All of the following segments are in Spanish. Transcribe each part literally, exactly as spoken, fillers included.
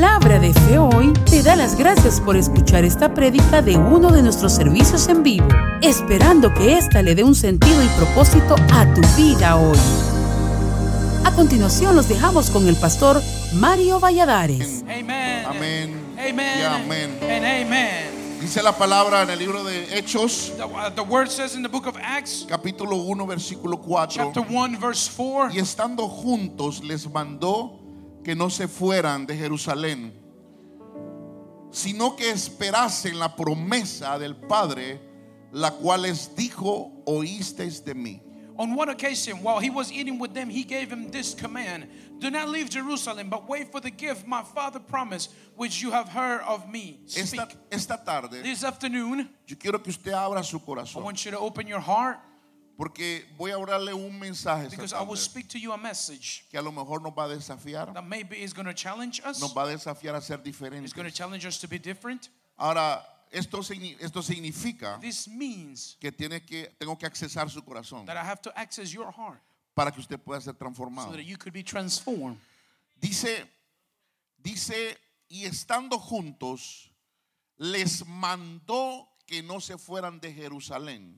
Palabra de Fe Hoy te da las gracias por escuchar esta prédica de uno de nuestros servicios en vivo, esperando que ésta le dé un sentido y propósito a tu vida hoy. A continuación los dejamos con el pastor Mario Valladares. Amén. Amén. Amen. Y amén. And amen. Dice la palabra en el libro de Hechos, The, uh, the word says in the book of Acts, capítulo uno, versículo cuatro. chapter one, verse four. Y estando juntos les mandó que no se fueran de Jerusalén, sino que esperasen la promesa del Padre, la cual les dijo: oísteis de mí. On one occasion, while he was eating with them, he gave him this command: do not leave Jerusalem, but wait for the gift my Father promised, which you have heard of me. Speak. Esta, esta tarde This afternoon, yo quiero que usted abra su I corazón, want you to open your heart, porque voy a orarle un mensaje esta because I tarde will speak to you a message que a lo mejor nos va a desafiar, that maybe is going to challenge us. nos va a desafiar a ser It's going to diferentes. challenge us to be different. Ahora, esto, signi- esto significa This means que, tiene que tengo que accesar su corazón that I have to access your heart para que usted pueda ser so transformado. that you could be transformed. Dice, dice, y estando juntos, les mandó que no se fueran de Jerusalén.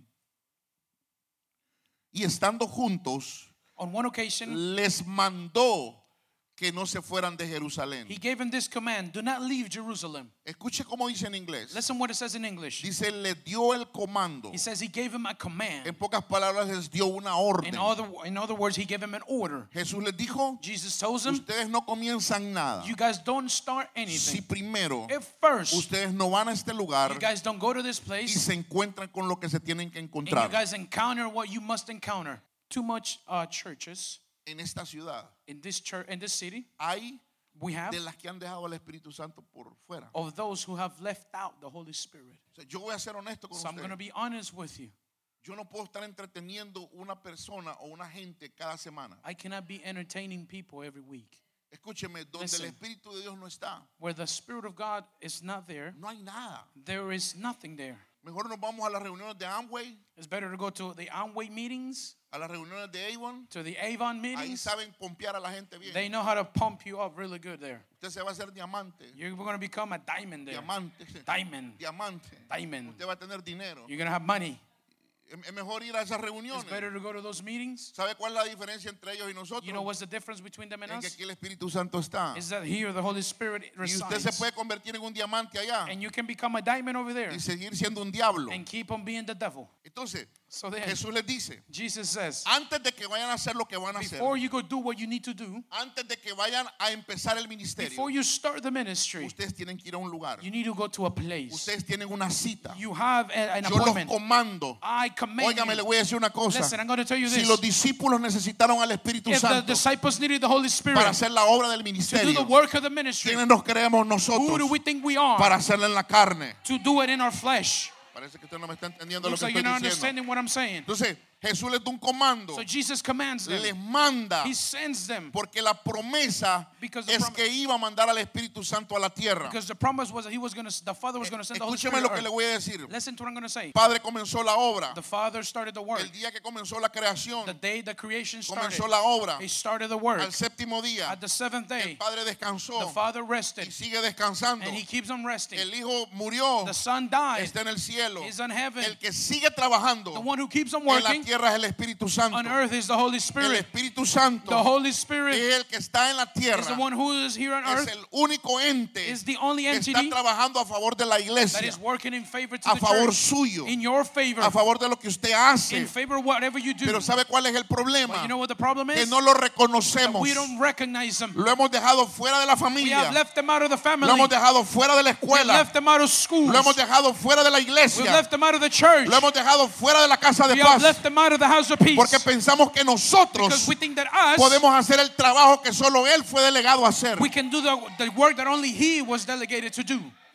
Y estando juntos, On one occasion, les mandó que no se fueran de Jerusalén. he gave him this command: do not leave Jerusalem. Escuche cómo dice en inglés. Listen what it says in English. Dice, le dio el comando. He says he gave him a En command. pocas palabras, les dio una orden. In other, in other words, he gave him an order. Jesús les dijo: Jesus tells him, ustedes no comienzan nada you guys don't start si anything primero if first ustedes no van a este lugar you guys don't go to this y place se encuentran con lo que se tienen que and you encontrar. guys encounter what you must encounter. Too much uh, churches En esta ciudad in this church in this city hay we have de las que han dejado al Espíritu Santo por fuera. of those who have left out the Holy Spirit. O sea, yo voy a ser honesto con So I'm going to usted. be honest with you. Yo no puedo estar entreteniendo una persona o una gente cada semana. I cannot be entertaining people every week. Escúcheme, donde Listen. el Espíritu de Dios no está, Where the Spirit of God is not there, no hay nada. there is nothing there. Mejor nos vamos a las reuniones de Amway, It's better to go to the Amway meetings, a las reuniones de Avon. to the Avon Ahí meetings. saben pompear a la gente bien. They know how to pump you up really good there. Usted se va a hacer diamante, You're going to become a diamond there. diamante, Diamond. diamante. Diamond. Usted va a tener dinero. You're going to have money. Es mejor ir a esas It's reuniones. better to go to those meetings. ¿Sabe cuál es la diferencia entre ellos y nosotros? You know what's the difference between them and En que us? aquí el Espíritu Santo está. Is that here the Holy Spirit Y usted se resides. puede convertir en un diamante allá And you can become a diamond over there y seguir siendo un diablo. and keep on being the devil. Entonces, So then, Jesús les dice, Jesus says, antes de que vayan a hacer lo que van a hacer, before you go do what you need to do, antes de que vayan a empezar el ministerio, before you start the ministry, ustedes tienen que ir a un lugar. you need to go to a place. Ustedes tienen una cita. You have a- an Yo los appointment. comando. I command Óigame, le you. voy a decir una cosa. Listen, I'm going to tell you Si this. los discípulos necesitaron al Espíritu If the Santo disciples needed the Holy Spirit para hacer la obra del to do the ministerio, work of the ministry, ¿quiénes nos creemos who do nosotros we think we are para hacerla en la carne? to do it in our flesh? Parece que usted no me está entendiendo lo Looks que like you're estoy not diciendo. understanding what I'm saying. Entonces, Jesús les da un comando, So Jesus commands them. les manda, He sends them porque la promesa Because the es prom- que iba a mandar al Espíritu Santo a la tierra. because the promise was that he was going to, the Father was going to send the Holy Escúcheme Spirit. lo to que le earth. voy a decir. Listen to what I'm going to say. Padre comenzó la obra. The Father started the work. El día que comenzó la creación, The day the creation started, comenzó la obra. he started the work. Al séptimo día, At the seventh el day, Padre descansó the Father y rested, sigue descansando. and he keeps on resting. El Hijo murió, The Son died. está en el cielo. He's in heaven. El que sigue trabajando The one who keeps on en la working tierra es el Espíritu Santo. on earth is the Holy El Spirit. Espíritu Santo The Holy Spirit es el que está en la is the tierra. one who is here on Es earth, el único ente is the only que está entity trabajando a favor de la that iglesia, is working in favor to a the favor church, suyo, in your favor, a favor de lo que usted hace. in favor of whatever you do. Pero ¿sabe cuál es el But problema? you know what the problem Que is? no lo reconocemos. We don't recognize them. Lo hemos dejado fuera de la We familia. have left them out of the family. Lo hemos dejado fuera de la We escuela. left them out of schools. Lo hemos dejado fuera de la We've iglesia. left them out of the church. Lo hemos dejado fuera de la casa de We have paz. left them out of the house of peace. Porque pensamos que nosotros Because we think that us, podemos hacer el trabajo que solo Él fue delegado a hacer. we can do the, the work that only He was delegated to do.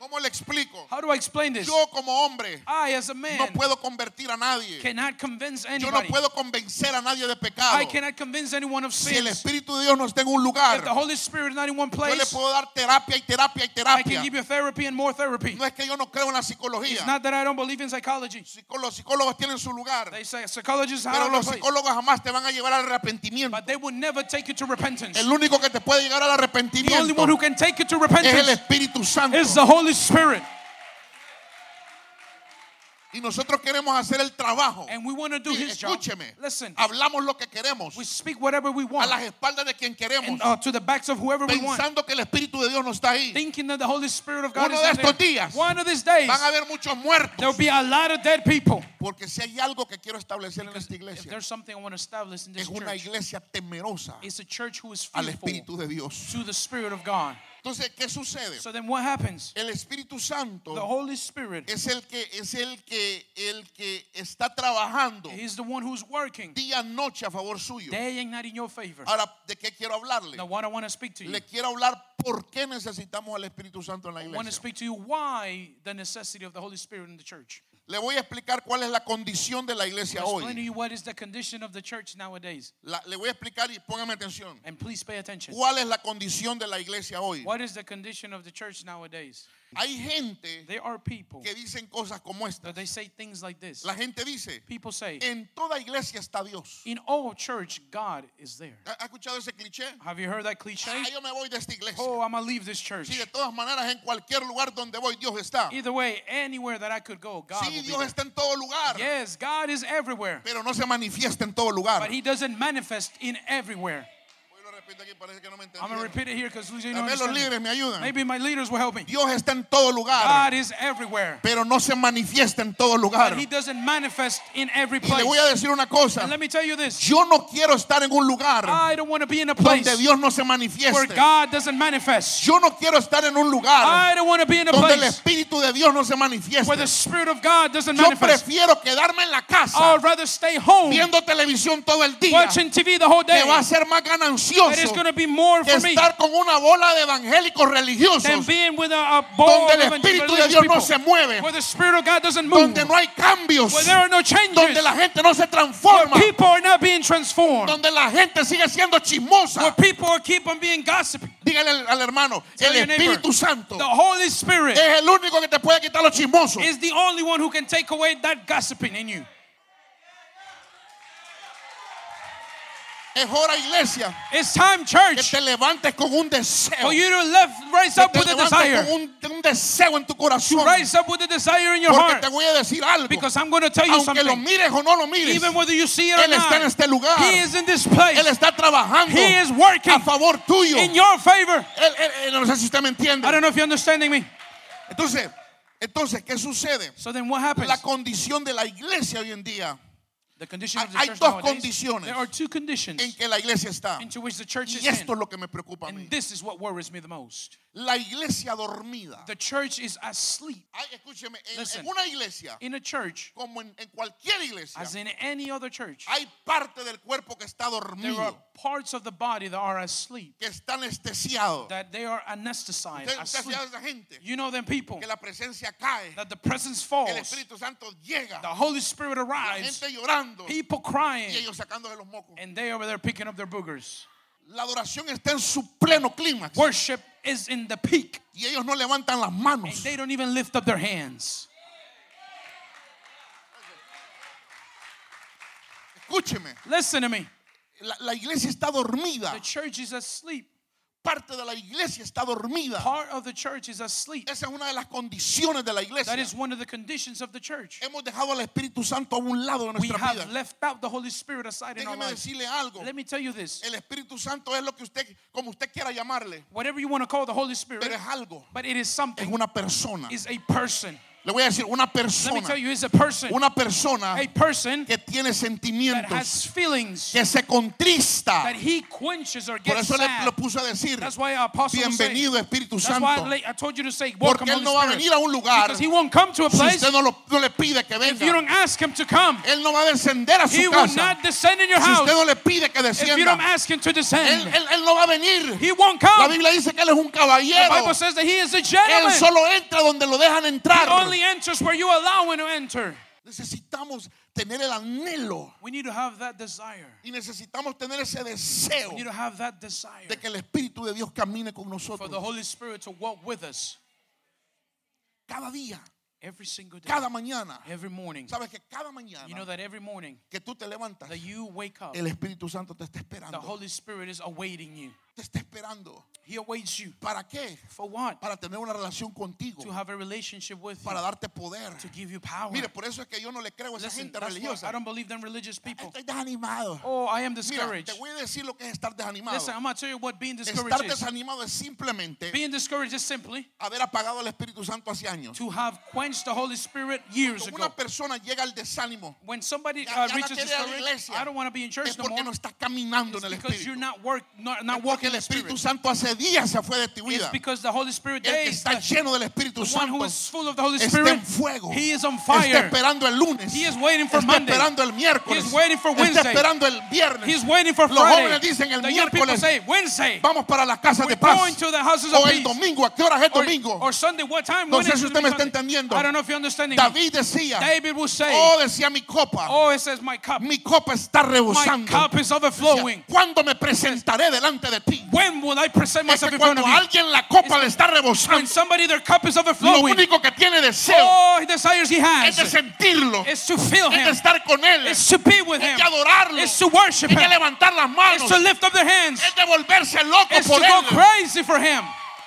¿Cómo le explico? How do I explain this? Yo como hombre I, as a man, no puedo convertir a nadie. cannot convince Yo no anybody. puedo convencer a nadie de pecado. I cannot convince anyone of Si el sins. Espíritu de Dios no está en un lugar, If the Holy Spirit is not in one yo le place, puedo dar terapia y terapia y I can terapia. give you therapy and more therapy. No es que yo no creo en la It's psicología. not that I don't believe in psychology. Psicó- Los psicólogos tienen su lugar, They say psychologists pero have a los place, psicólogos jamás te van a llevar al arrepentimiento. but they will never take you to repentance. El único que te puede llegar al The only arrepentimiento one who can take you to es el repentance Espíritu Santo. is the Holy Spirit. Y nosotros queremos hacer el trabajo. And we want to do Y His job. escúcheme, Listen, hablamos lo que queremos we speak whatever we a want, las espaldas de quien queremos, and, uh, to the backs of whoever we want, pensando que el Espíritu de Dios no está ahí. thinking that the Holy Spirit of God Uno is de not estos there. días One of these days, Van a haber muchos there will muertos. be a lot of dead people. Porque si hay algo que quiero establecer en esta If iglesia, there's something I want to establish in this es una church, iglesia temerosa it's a church who is al fearful Espíritu de Dios. to the Spirit of God. Entonces, ¿qué sucede? So then what happens? El Espíritu The Santo Holy Spirit, es el que es el que el que está trabajando He's the one who's working día y noche a favor suyo. day and night in your favor. Ahora, ¿de qué quiero hablarle? Now what I want to speak to you, Le quiero hablar por qué necesitamos al Espíritu Santo en la I want to iglesia. speak to you why the necessity of the Holy Spirit in the church. Le voy a explicar cuál es la condición de la iglesia I'll explain to hoy. you what is the condition of the church nowadays. La- le voy a explicar y póngame atención. And please pay attention. ¿Cuál es la condición de la iglesia hoy? What is the condition of the church nowadays? Hay gente There are people que dicen cosas como esta. that they say things like this. La gente dice, People say, en toda iglesia está Dios. in all church, God is there. ¿Ha ha escuchado ese cliché? Have you heard that cliche? Ah, yo me voy de esta iglesia. Oh, I'm going to leave this church. Sí, de todas maneras, en cualquier lugar donde voy, Dios está. Either way, anyweur that I could go, God Sí, will be Dios there. está en todo lugar, Yes, God is everywhere, pero no se manifiesta en todo lugar. but He doesn't manifest in everywhere. Hoy lo repito aquí, parece que no me I'm going to entendieron. repeat it here because you Tal don't vez los understand. líderes me ayudan. Maybe my leaders will help me. Dios está en todo lugar, God is everywhere, pero no se manifiesta en todo lugar. but He doesn't manifest in every Y le place. voy a decir una cosa. And let me tell you this. Yo no quiero estar en un lugar I don't want to be in a place donde Dios no se where manifieste. God doesn't manifest. Yo no quiero estar en un lugar I don't want to be in a donde el place Espíritu de Dios no se where manifieste. the Spirit of God doesn't Yo manifest. prefiero quedarme en la casa I'd rather stay home viendo televisión todo el día, watching T V the whole day. que va a ser más That is ganancioso going to be more que for me estar con una bola de evangélicos than religiosos being with a, a ball donde el of Espíritu de religious Dios no people, se mueve, where the Spirit of God doesn't move, donde no hay cambios, where there are no changes, donde la gente no se where transforma, people are not being transformed, donde la gente sigue siendo where chismosa. people are keep on being gossipy. Dígale al, al hermano, Tell el your neighbor, Espíritu Santo the Holy Spirit es el único que te puede quitar los chismosos. is the only one who can take away that gossiping in you. Es hora, iglesia, It's time, que church, te levantes con un deseo, for you to live, rise que up te with a levantes desire, con un, un deseo en tu to corazón, rise up with a desire in your porque heart. te voy a decir algo, Because I'm going to tell you aunque lo something. mires o no lo mires, Even whether you see it or Él está en not, este lugar, He is in this place. Él está trabajando He is working a favor tuyo. in your favor. Él- él- él- no sé si usted me entiende. I don't know if you're understanding me. Entonces, entonces, ¿qué sucede? So then what happens? La condición de la iglesia hoy en día, The condition of the hay church dos nowadays, condiciones there are two conditions en que la iglesia está. into which the church is Y esto es in. lo que me preocupa a mí. And this is what worries me the most. La iglesia dormida. The church is asleep. Ay, escúcheme, en, Listen. en una iglesia, In a church, como en, en cualquier iglesia, as in any other church, hay parte del cuerpo que está there are dormido, parts of the body that are asleep, que está anestesiado. that they are anesthetized, Usted, usted asleep. sabe esa gente You know them people, que la presencia cae, that the presence que falls, el Espíritu Santo llega, the Holy Spirit la arrives, gente llorando people y crying, ellos sacándose los mocos. and they over there picking up their boogers. La adoración está en su pleno clímax Worship is in the peak, y ellos no levantan las and manos. they don't even lift up their hands. Escúcheme, Listen to me. la, la iglesia está dormida. The church is asleep. Parte de la iglesia está dormida. Part of the church is asleep. Esa es una de las condiciones de la iglesia. That is one of the conditions of the church. Hemos dejado al Espíritu Santo a un lado de We nuestra have vida. left out the Holy Spirit aside in our Déjeme lives. decirle algo. Let me tell you this. El Espíritu Santo es lo que usted, como usted quiera llamarle, Whatever you want to call the Holy Spirit, pero es algo, but it is es something, una persona. is a person. Le voy a decir, una Let me persona, tell you, is a person, una persona a person que tiene that sentimientos, has feelings, que se contrista. that he quenches or Por gets eso le, sad. le puso a decir, That's why our apostle was saying, bienvenido Espíritu that's why I Santo. la- I told you to say, welcome, Porque Él Holy no va a Spirit. venir a un lugar Because he won't come to a si place usted no, lo, no le pide que if you venga. don't ask him to come. Él no va a descender a He su will casa not descend in your si house usted no le pide que if you don't descienda. ask him to Él, descend. él, él no va a venir. He won't La come. Biblia dice que Él es un The caballero. Bible says that he is a Él gentleman. solo entra donde lo dejan He entrar. only enters where you allow him to enter. Necesitamos tener el anhelo We need to have that desire. y necesitamos tener ese We deseo need to have that desire de que el Espíritu de Dios camine con for nosotros the Holy Spirit to walk with us cada día, every single day, cada mañana. every morning. Sabes que cada You know mañana that every morning que tú te levantas, that you wake up, el Espíritu Santo te está the esperando. Holy Spirit is awaiting you. Te está esperando. He awaits you. ¿Para qué? For what? Para tener una relación contigo, To have a relationship with you, para darte poder. to give you power. Mire, por eso es que yo no le creo a esa Listen, gente that's why religiosa. I don't believe them religious people. Estoy desanimado. Oh, I am Mira, discouraged. te voy a decir lo que es estar desanimado. Listen, I'm going to tell you what being discouraged Estar is. desanimado es simplemente Being discouraged is simply haber apagado al Espíritu Santo hace años. to have quenched the Holy Spirit years Cuando ago. una persona llega al desánimo, When somebody Ya- uh, ya no reaches quiere ir a la discouraged, iglesia. I don't want to be in church es no porque more. no está caminando It's en el because you're Espíritu. not work, not, not Es walking porque in el the Espíritu Spirit. Santo hace días se fue de tu It's vida. because the Holy Spirit El que days, está the lleno del Espíritu one who Santo is full of the Holy está Spirit, en fuego. he is on Está fire. esperando el lunes. He is waiting for Está Monday. esperando el miércoles. He is waiting for Está Wednesday. esperando el viernes. He's waiting for Los Friday. jóvenes dicen el The young people miércoles say, Wednesday, vamos para las casas we're de paz. going to the houses of O el peace. domingo, ¿a qué hora es el Or, domingo? or Sunday, what time? No When sé is si it usted me está Sunday? entendiendo. I don't know if you're understanding me. David decía, David will say, oh, decía mi copa, oh, it says my cup. mi copa está My rebosando. cup is Decía, overflowing. ¿cuándo me presentaré delante de ti? When will I present Es myself que in front cuando of you? alguien la copa It's le está When rebosando, somebody, their cup is lo overflowing, único que tiene deseo all he desires he es de has sentirlo, is to feel es de him, estar con él, is es to be with him, de adorarlo, is to worship es de him, levantar las is manos, to lift up their hands, es de volverse loco is to por go él. crazy for him.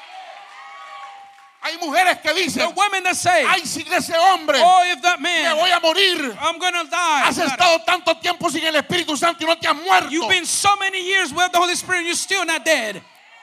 Hay mujeres que The dicen, women that say, ay, si ese hombre oh, if that me man, voy a morir. I'm gonna die. Has estado tanto tiempo sin el Espíritu Santo y no te has muerto. You've been so many years with the Holy Spirit, you're still not dead.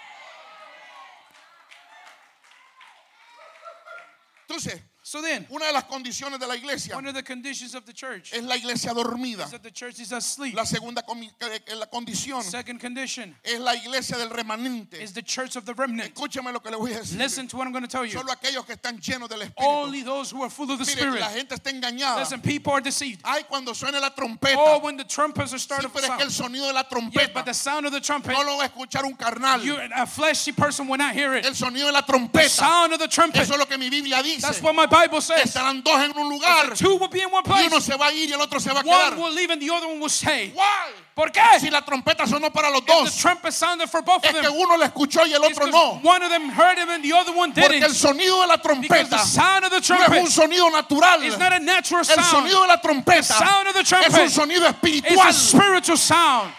Entonces, So then, una de las condiciones de la iglesia one of the conditions of the church es la iglesia dormida. is that the church is asleep. La segunda comi- eh, eh, la condición Second condition es la iglesia del remanente. is the church of the remnant. Escúcheme lo que le voy a decir. Listen to what I'm going to tell you. Solo aquellos que están llenos del Espíritu. Only those who are full of the Mire, Spirit. la gente está engañada. Listen, people are deceived. Ay, cuando suene la trompeta. Oh, when the trumpets are Sí, starting to pero es que el sound. sonido de la Yes, trompeta but the sound of the trumpet, no lo va a escuchar un carnal. you, a fleshy person will not hear it. El sonido de la The trompeta. sound of the trumpet. Eso es lo que mi Biblia dice. That's what my Bible says. Estarán dos en un lugar Two will be in one y place. uno se va a ir y el otro se va a One quedar. will leave and the other one will stay. Why? ¿Por qué? Si la trompeta sonó para los If the dos, trumpet sounded for both es of que them, uno lo escuchó y el it's otro 'cause no. one of them heard him and the other one Porque el didn't. sonido de la Because the trompeta sound of the no es un trumpet sonido natural. is not a natural El sound. sonido de la The trompeta sound of the es un trumpet sonido is espiritual. a spiritual sound.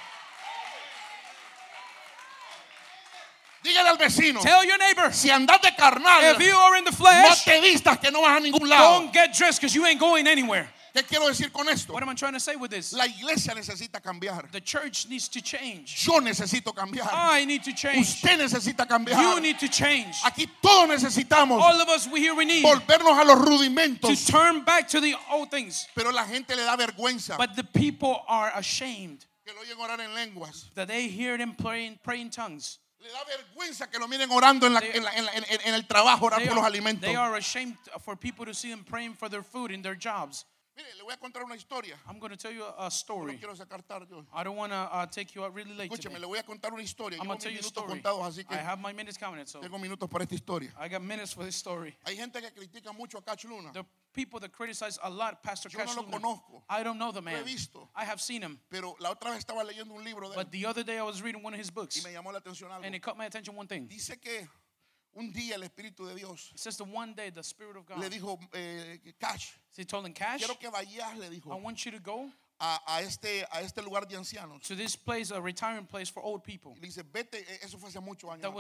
Dígale al vecino, Tell your neighbor, si andas de carnal, if you are in the no flesh, te vistas que no vas a ningún lado. don't get dressed because you ain't going anywhere. ¿Qué quiero decir con esto? What am I trying to say with this? La iglesia necesita cambiar. The church needs to change. Yo necesito cambiar. I need to change. Usted necesita cambiar. You need to change. Aquí todos necesitamos All of us, we here we need volvernos a los to rudimentos. turn back to the old things. Pero la gente le da vergüenza But the people are ashamed que lo oyen orar en lenguas. that they hear them praying, praying tongues. Le da vergüenza que lo miren orando en, la- They- en la- en la- en- en el trabajo, orar They por los are, alimentos. they are ashamed for people to see them praying for their food in their jobs. Mire, le voy a contar una historia. I'm going to tell you a, a No story. quiero sacar tarde yo. I don't want to uh, take you out really late Escúcheme, today. le voy a contar una historia. I'm Llevo going to tell mis you a minutos story. contados, así que I have my minutes counted, so tengo minutos para esta historia. I got minutes for this story. Hay gente que critica mucho a Cash Luna. The people that criticize a lot Pastor Yo no Cash lo Luna, conozco. I don't know the Lo he man. visto. I have seen him. Pero la otra vez estaba leyendo un libro de él But the other day I was reading one of his y books, me llamó la atención algo. and it caught my attention one thing. Dice que un día el Espíritu de Dios It says the one day the Spirit of God, le dijo, eh, Cash, he told him, Cash, quiero que vayas, le I dijo, want you to go a, a este, a este lugar de ancianos. to this place, a retiring place for old people. Y le dice, vete, eh, eso fue hace muchos años That was atrás.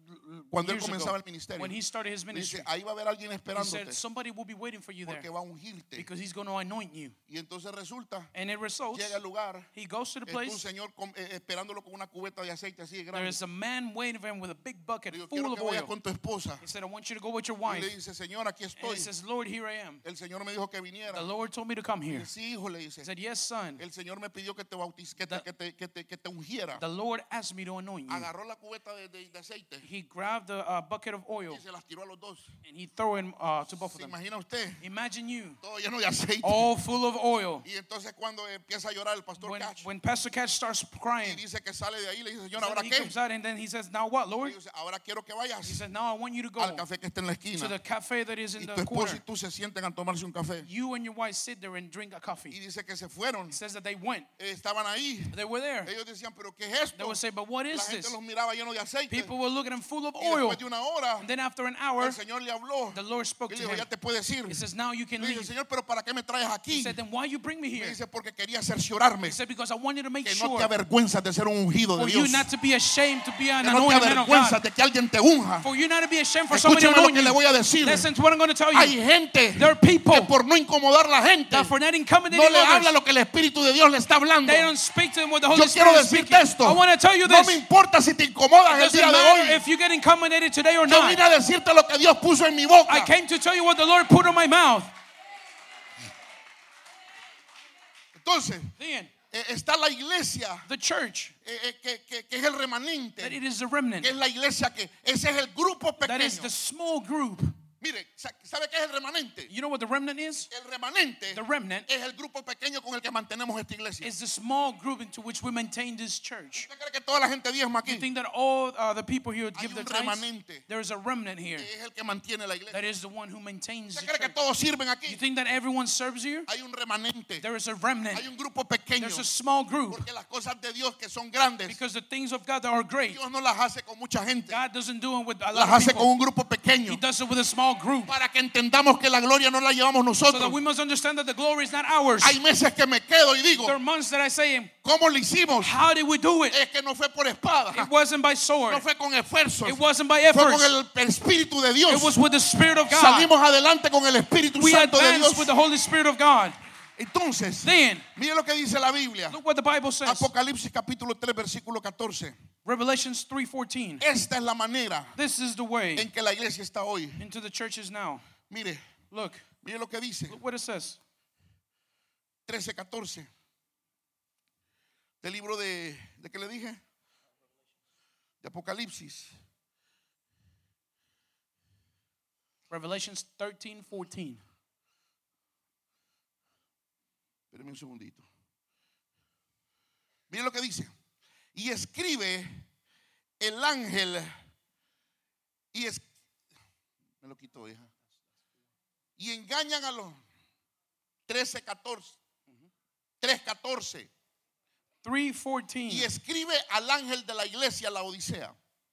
Cuando él years ago, comenzaba el ministerio. when he started his ministry, Dice, ahí va a haber alguien he esperándote said, somebody will be waiting for you there porque va a ungirte. because he's going to anoint you. Y entonces resulta, And it results, llega al lugar, he goes to the está un place, señor con- eh, esperándolo con una cubeta de aceite así de there grande. is a man waiting for him with a big bucket Le digo, full quiero of que vayas oil. con tu esposa. He said, I want you to go with your Y wife. le dice, Señor, aquí And estoy. he says, Lord, here I am. El Señor me dijo que viniera. The Lord told me to come Y here. dice, hijo, le dice, He said, yes, son. el Señor me pidió que te bautiz, que te, The- que te, que te, que te ungiera. The Lord asked me to anoint you. Agarró la cubeta de, de- de aceite He grabbed a uh, bucket of oil y se las tiró a los dos. and he threw him uh, to both of ¿Se them. imagina usted? Imagine you, Todo lleno de aceite. all full of oil. Y entonces cuando empieza a llorar el pastor When, Cash when Pastor Catch starts y crying, dice que sale de ahí, le dice, Señor, so ¿ahora he qué? comes out and then he says, now what, Y Lord? dice, ahora quiero que He vayas says, now I want you to go al café que está en la to the esquina. cafe that is in Y the tu esposa y corner. tú se sienten a tomarse un café. You and your wife sit there and drink a Y coffee. dice que se fueron. He says that they went. Eh, estaban ahí. They were there. Ellos decían, pero ¿qué es They esto? would say, but what La is gente this? los miraba llenos de aceite. People were looking at him full of Y oil. después de una hora, And then after an hour, el Señor le habló. the Lord spoke Y le to dijo, him. ya te puedes ir. He says, now you can Le dice, leave. Señor, pero ¿para qué me traes He aquí? said, then why you bring me Me here? dice, porque quería cerciorarme He said, because I wanted to make que no sure te avergüenzas de ser un ungido de for you Dios. not to be ashamed to be an Que no te anointed man of avergüenzas God. de que alguien te unja. For you not to be ashamed for somebody to Escúcheme lo anoint que le voy a you. decir. Listen to what I'm going to tell Hay you. gente There are people que por no incomodar a la gente that for not accommodating no le habla others, lo que el Espíritu de Dios le está hablando. they don't speak to them what the Holy Yo quiero Spirit is decirte speaking. esto. I want to tell you No this. me It importa si te incomodas el doesn't día de matter hoy. if you get accommodated today or Yo vine not. a decirte lo que Dios puso en mi boca. I came to tell you what the Lord put on my mouth. Entonces, Then, eh, está la iglesia the church, eh, eh, que, que- que es el remanente, that it is the remnant, que es la iglesia que ese es el grupo that is pequeño. the small group. Mire, sa- ¿sabe qué es el remanente? You know what the remnant is? El remanente The remnant es el grupo pequeño con el que mantenemos esta iglesia. is the small group into which we maintain this church. ¿Usted cree que toda la gente diezma You aquí? think that all uh, the people here would Hay give their un tithes? remanente There is a remnant here que es el que mantiene la iglesia. that is the one who maintains the ¿Usted cree que church. todos sirven You aquí? think that everyone serves here? Hay un remanente. There is a remnant. Hay un grupo pequeño. There's a small group Porque las cosas de Dios que son grandes, because the things of God that are great, Dios no las hace con mucha gente. God doesn't do it with a Las lot of hace con people. un grupo pequeño. He does it with a small group. Para que entendamos que la gloria no la llevamos So that nosotros. we must understand that the glory is not ours. Hay meses que me quedo y digo, There are months that I say, ¿cómo lo hicimos? how did we do it? Es que no fue por espada. It wasn't by sword. No fue con esfuerzos. It wasn't by Fue con efforts. el Espíritu de Dios. It was with the Spirit of God. Salimos adelante con el Espíritu We Santo de advanced Dios. with the Holy Spirit of God. Entonces, Then, mire lo que dice la Biblia. look what the Bible says. Apocalipsis capítulo tres, versículo catorce. Revelations three fourteen. Esta es la manera This is the way en que la iglesia está hoy. into the churches now. Mire, Look, mire lo que dice. look what it says. trece, catorce. Del libro de, ¿de qué le dije? De Apocalipsis. Revelations thirteen fourteen. Espérame un segundito. Mire lo que dice. Y escribe el ángel. Y es, me lo quitó, hija. Y engañan a los trece, catorce. tres, catorce. three fourteen. Y escribe al ángel de la iglesia, la Odisea.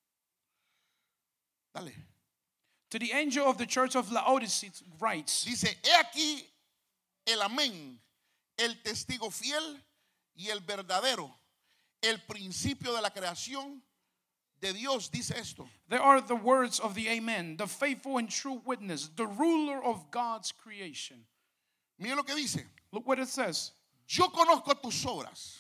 Dale. To the angel of the church of Laodicea writes, Dice, he aquí el amén, el testigo fiel y el verdadero, el principio de la creación de Dios, dice esto. there are the words of the Amen, the faithful and true witness, the ruler of God's creation. Mire lo que dice. Look what it says. Yo conozco tus obras,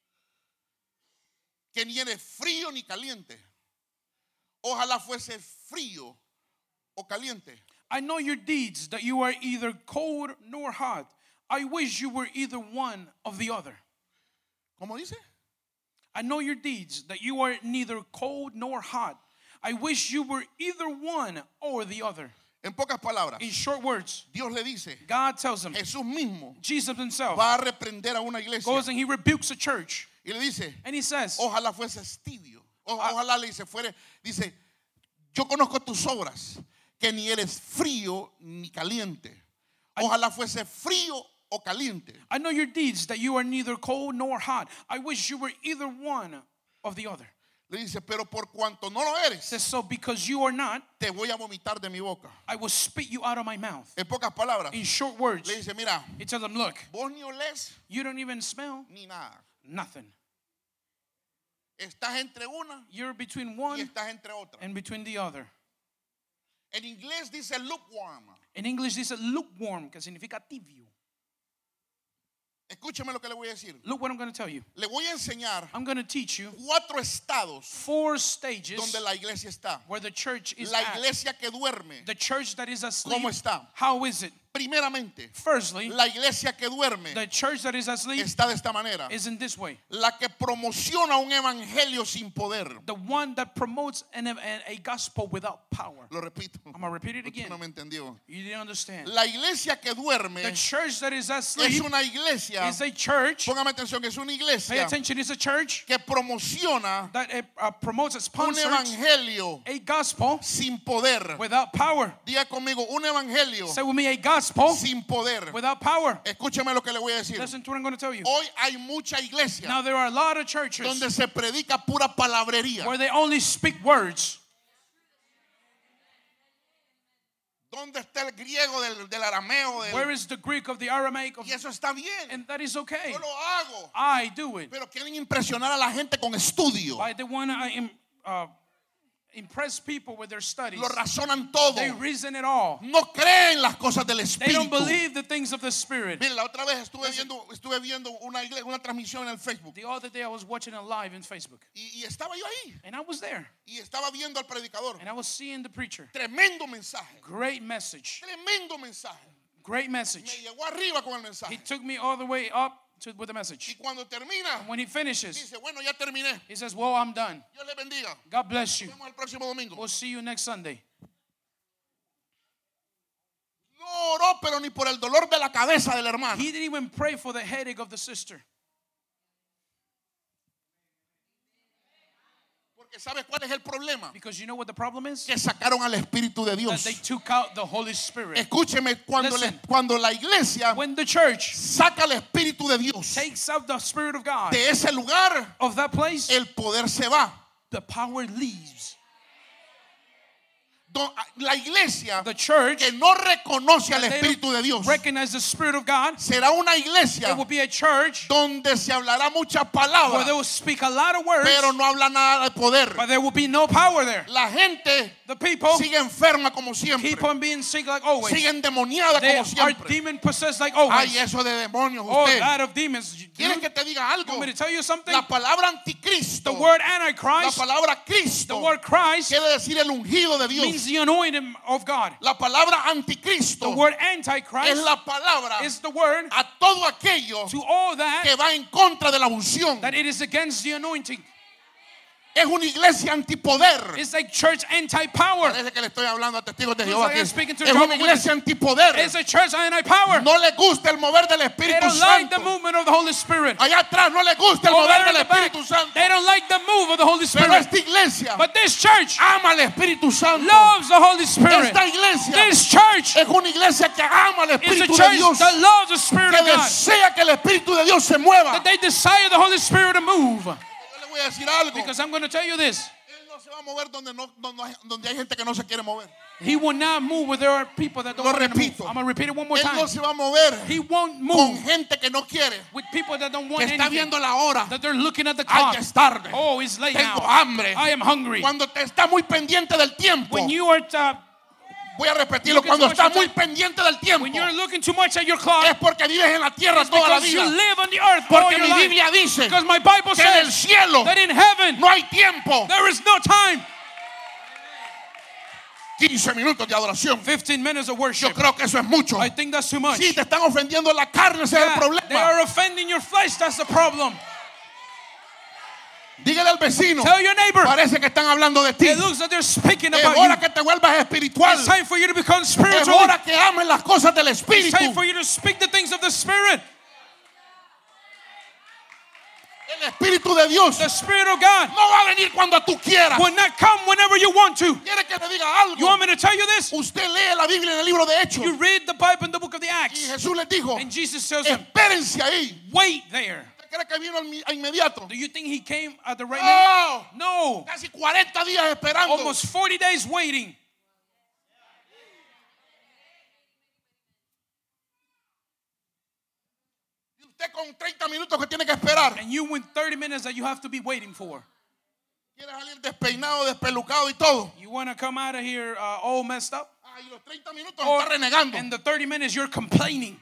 que ni eres frío ni caliente. Ojalá fuese frío o caliente. I know your deeds, that you are either cold nor hot. I wish you were either one of the other. ¿Cómo dice? I know your deeds, that you are neither cold nor hot. I wish you were either one or the other. En pocas palabras, In short words, Dios le dice, God tells him, Jesús mismo Jesus himself va a reprender a una iglesia goes and he rebukes a church. y le dice, And he says, ojalá fuese tibio. O- Ojalá le dice, fuere, dice, yo conozco tus obras, que ni eres frío ni caliente. Ojalá fuese frío o caliente. I know your deeds, that you are neither cold nor hot. I wish you were either one of the other. Le dice, pero por cuanto no lo He eres, says, so because you are not, te voy a vomitar de mi boca. I will spit you out of my mouth. En pocas palabras, In short words, le dice, mira, he tells them, look, vos ni olés you don't even smell ni nada. nothing. Estás entre una You're between y one estás entre otra. and between the other. En inglés dice lukewarm. In English, this is lukewarm, que significa tibio. Escúcheme lo que le voy a decir. Look what I'm going to tell you. Le voy a enseñar I'm going to teach you cuatro estados four stages donde la iglesia está. where the church is La at. iglesia que duerme. The church that is asleep, ¿Cómo está? how is it? Primeramente, Firstly, la iglesia que duerme the church that is asleep está de esta manera. is in this way. La que promociona un evangelio sin poder. The one that promotes an, an, a gospel without power. Lo repito. I'm going to repeat it Usted again. no me entendió. You didn't understand. La iglesia que duerme The church that is es asleep una iglesia. is a church. Póngame atención, que es una Pay iglesia attention, it's a church que promociona that uh, uh, promotes a un sponsor, evangelio a gospel sin poder. without power. Diga conmigo, un evangelio Say with me, a gospel sin poder. without power. Escúcheme lo que le voy a decir. Listen to what I'm going to tell you. Hoy hay mucha iglesia Now there are a lot of churches donde se predica pura palabrería. where they only speak words. ¿Dónde está el griego del, del arameo? Del- Where is the Greek of the Aramaic? Of, y eso está bien. and that is okay. Yo lo hago. I do it. Pero quieren impresionar a la gente con estudio. I, they want to uh, impress people with their studies. Lo razonan todo. They reason it all. No creen las cosas del They don't Espíritu. believe the things of the Spirit. Mire, la otra vez estuve viendo, estuve viendo una, igle- una transmisión en el Facebook. The other day I was watching it live in Facebook. Y, y estaba yo ahí. And I was there. Y estaba viendo al predicador. And I was seeing the preacher. Tremendo mensaje. Great message. Tremendo mensaje. Great Me message. llegó arriba con el He mensaje. took me all the way up to, with the Y message. cuando termina, When he finishes, dice, bueno, ya terminé. he says, well, I'm done. Dios le bendiga. God bless you. Nos vemos el próximo domingo. We'll see you next Sunday. No oró, pero ni por el dolor de la cabeza del hermano. He didn't even pray for the headache of the sister. Porque ¿sabes cuál es el problema? Because you know what the problem is? Que sacaron al Espíritu de That Dios. they took out the Holy Spirit. Escúcheme, cuando, le- Listen. cuando la iglesia When the church saca el Espíritu de Dios takes out the Spirit of God de ese lugar, of that place, el poder se va. the power leaves. Don- La iglesia The church, que no reconoce al they Espíritu de Dios don't recognize the Spirit of God, será una iglesia it will be a church donde se hablará muchas where palabras, they will speak a lot of words, pero no habla nada de poder. but there will be no power there. La gente The people sigue enferma como siempre, keep on being sick like always. sigue endemoniada They como are siempre. demon possessed like Ay, always. eso de demonios, Oh, usted. that of demons. You ¿Quieres you que te diga algo? want me to tell you something? La palabra The anticristo, word la Antichrist, palabra the Cristo, word Christ, quiere decir el ungido de means Dios. the anointed of God. La palabra The anticristo word es Antichrist la palabra is the word a todo aquello to all that que va en contra de la unción. that it is against the anointing. Es una iglesia antipoder. It's like church anti-power. Parece que le estoy hablando a testigos de Looks Jehová like aquí. I'm speaking to Es Jehovah's una iglesia antipoder. It's a church anti-power. No le gusta el mover del They Espíritu don't like the Santo. movement of the Holy Spirit. Allá atrás no le gusta el Over mover there in del the back, Espíritu Santo. they don't like the move of the Holy Pero Spirit. esta iglesia But this church ama al Espíritu Santo. loves the Holy Spirit. Esta iglesia This church es una iglesia que ama al is a Espíritu de church Dios. that loves the Spirit Que of God. desea que el Espíritu de Dios se mueva. That they desire the Holy Spirit to move. Yo le voy a decir algo. Because I'm going to tell you this. Él no se va a mover donde, no, donde, hay, donde hay gente que no se quiere mover. He will not move where there are people that don't Lo want him to move. repito. I'm going to repeat it one more Él time. no se va a mover He won't con move gente que no quiere. with people that don't Que want está anything. viendo la hora. That they're looking at the Ay, clock. que es tarde. Oh, it's late Tengo now. hambre. I am hungry. Cuando te está muy pendiente del tiempo. When you are uh, Voy a repetirlo. Looking Cuando too much está at muy the- pendiente del tiempo. when you're looking too much at your clock, Es porque vives en la tierra it's toda la because you vida. live on the earth all Porque your mi life. Biblia dice Because my Bible que en el says cielo that in heaven no hay tiempo. there is no time. quince minutos de adoración. fifteen minutes of Yo worship. creo que eso es mucho. I think that's too much. Sí, te están ofendiendo la carne, ese es el Yeah, problema. they are offending your flesh. That's the problem. Dígale al vecino. Tell your neighbor. Parece que están hablando de ti. It looks like they're speaking Es about hora you. que te vuelvas espiritual. It's time for you to become Es spiritual. hora que ames las cosas del It's Espíritu. time for you to speak the things of the Spirit. El Espíritu de Dios The Spirit of God no va a venir cuando tú quieras. will not come whenever you want to. ¿Quiere que te diga You algo? want me to tell you this? Usted lee la Biblia en el libro de Hechos. You read the Bible in the book of the Y Acts, Jesús les dijo, and Jesus tells them, espérense ahí. wait there. ¿Usted cree que vino al mi- a inmediato? Do you think he came at the right minute? No. No. Casi cuarenta días esperando. Almost forty days waiting. Y usted con treinta minutos que tiene que esperar. And you win thirty minutes that you have to be waiting for. Quieres salir despeinado, despelucado y todo. You want to come out of here uh, all messed up? Ah, y los treinta minutos Or está renegando. in the thirty minutes you're complaining.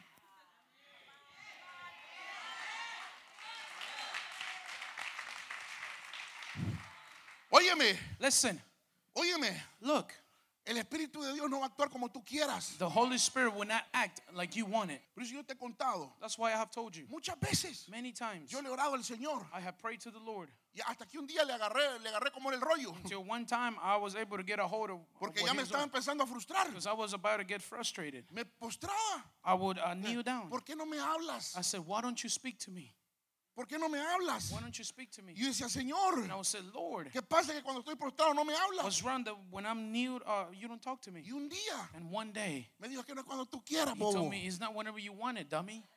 Óyeme, Listen, óyeme. look, El Espíritu de Dios no va a actuar como tú quieras. the Holy Spirit will not act like you want it. Por eso yo te he contado That's why I have told you muchas veces. many times. Yo le he orado al Señor I have prayed to the Lord y hasta que un día le agarré, le agarré como en el rollo, until one time I was able to get a hold of, of porque what ya he me was estaba doing, empezando a frustrar. because I was about to get frustrated. Me postraba. I would uh, kneel down. ¿Por qué no me hablas? I said, why don't you speak to me? ¿Por qué no me hablas? Why don't you speak to me? Y yo decía, Señor, And I would say, Lord, ¿qué pasa que cuando estoy prostrado no me hablas? what's wrong that when I'm kneeled, uh, you don't talk to me? Y un día And one day, me dijo que no es cuando tú quieras, he bobo. told me, it's not whenever you want it, dummy.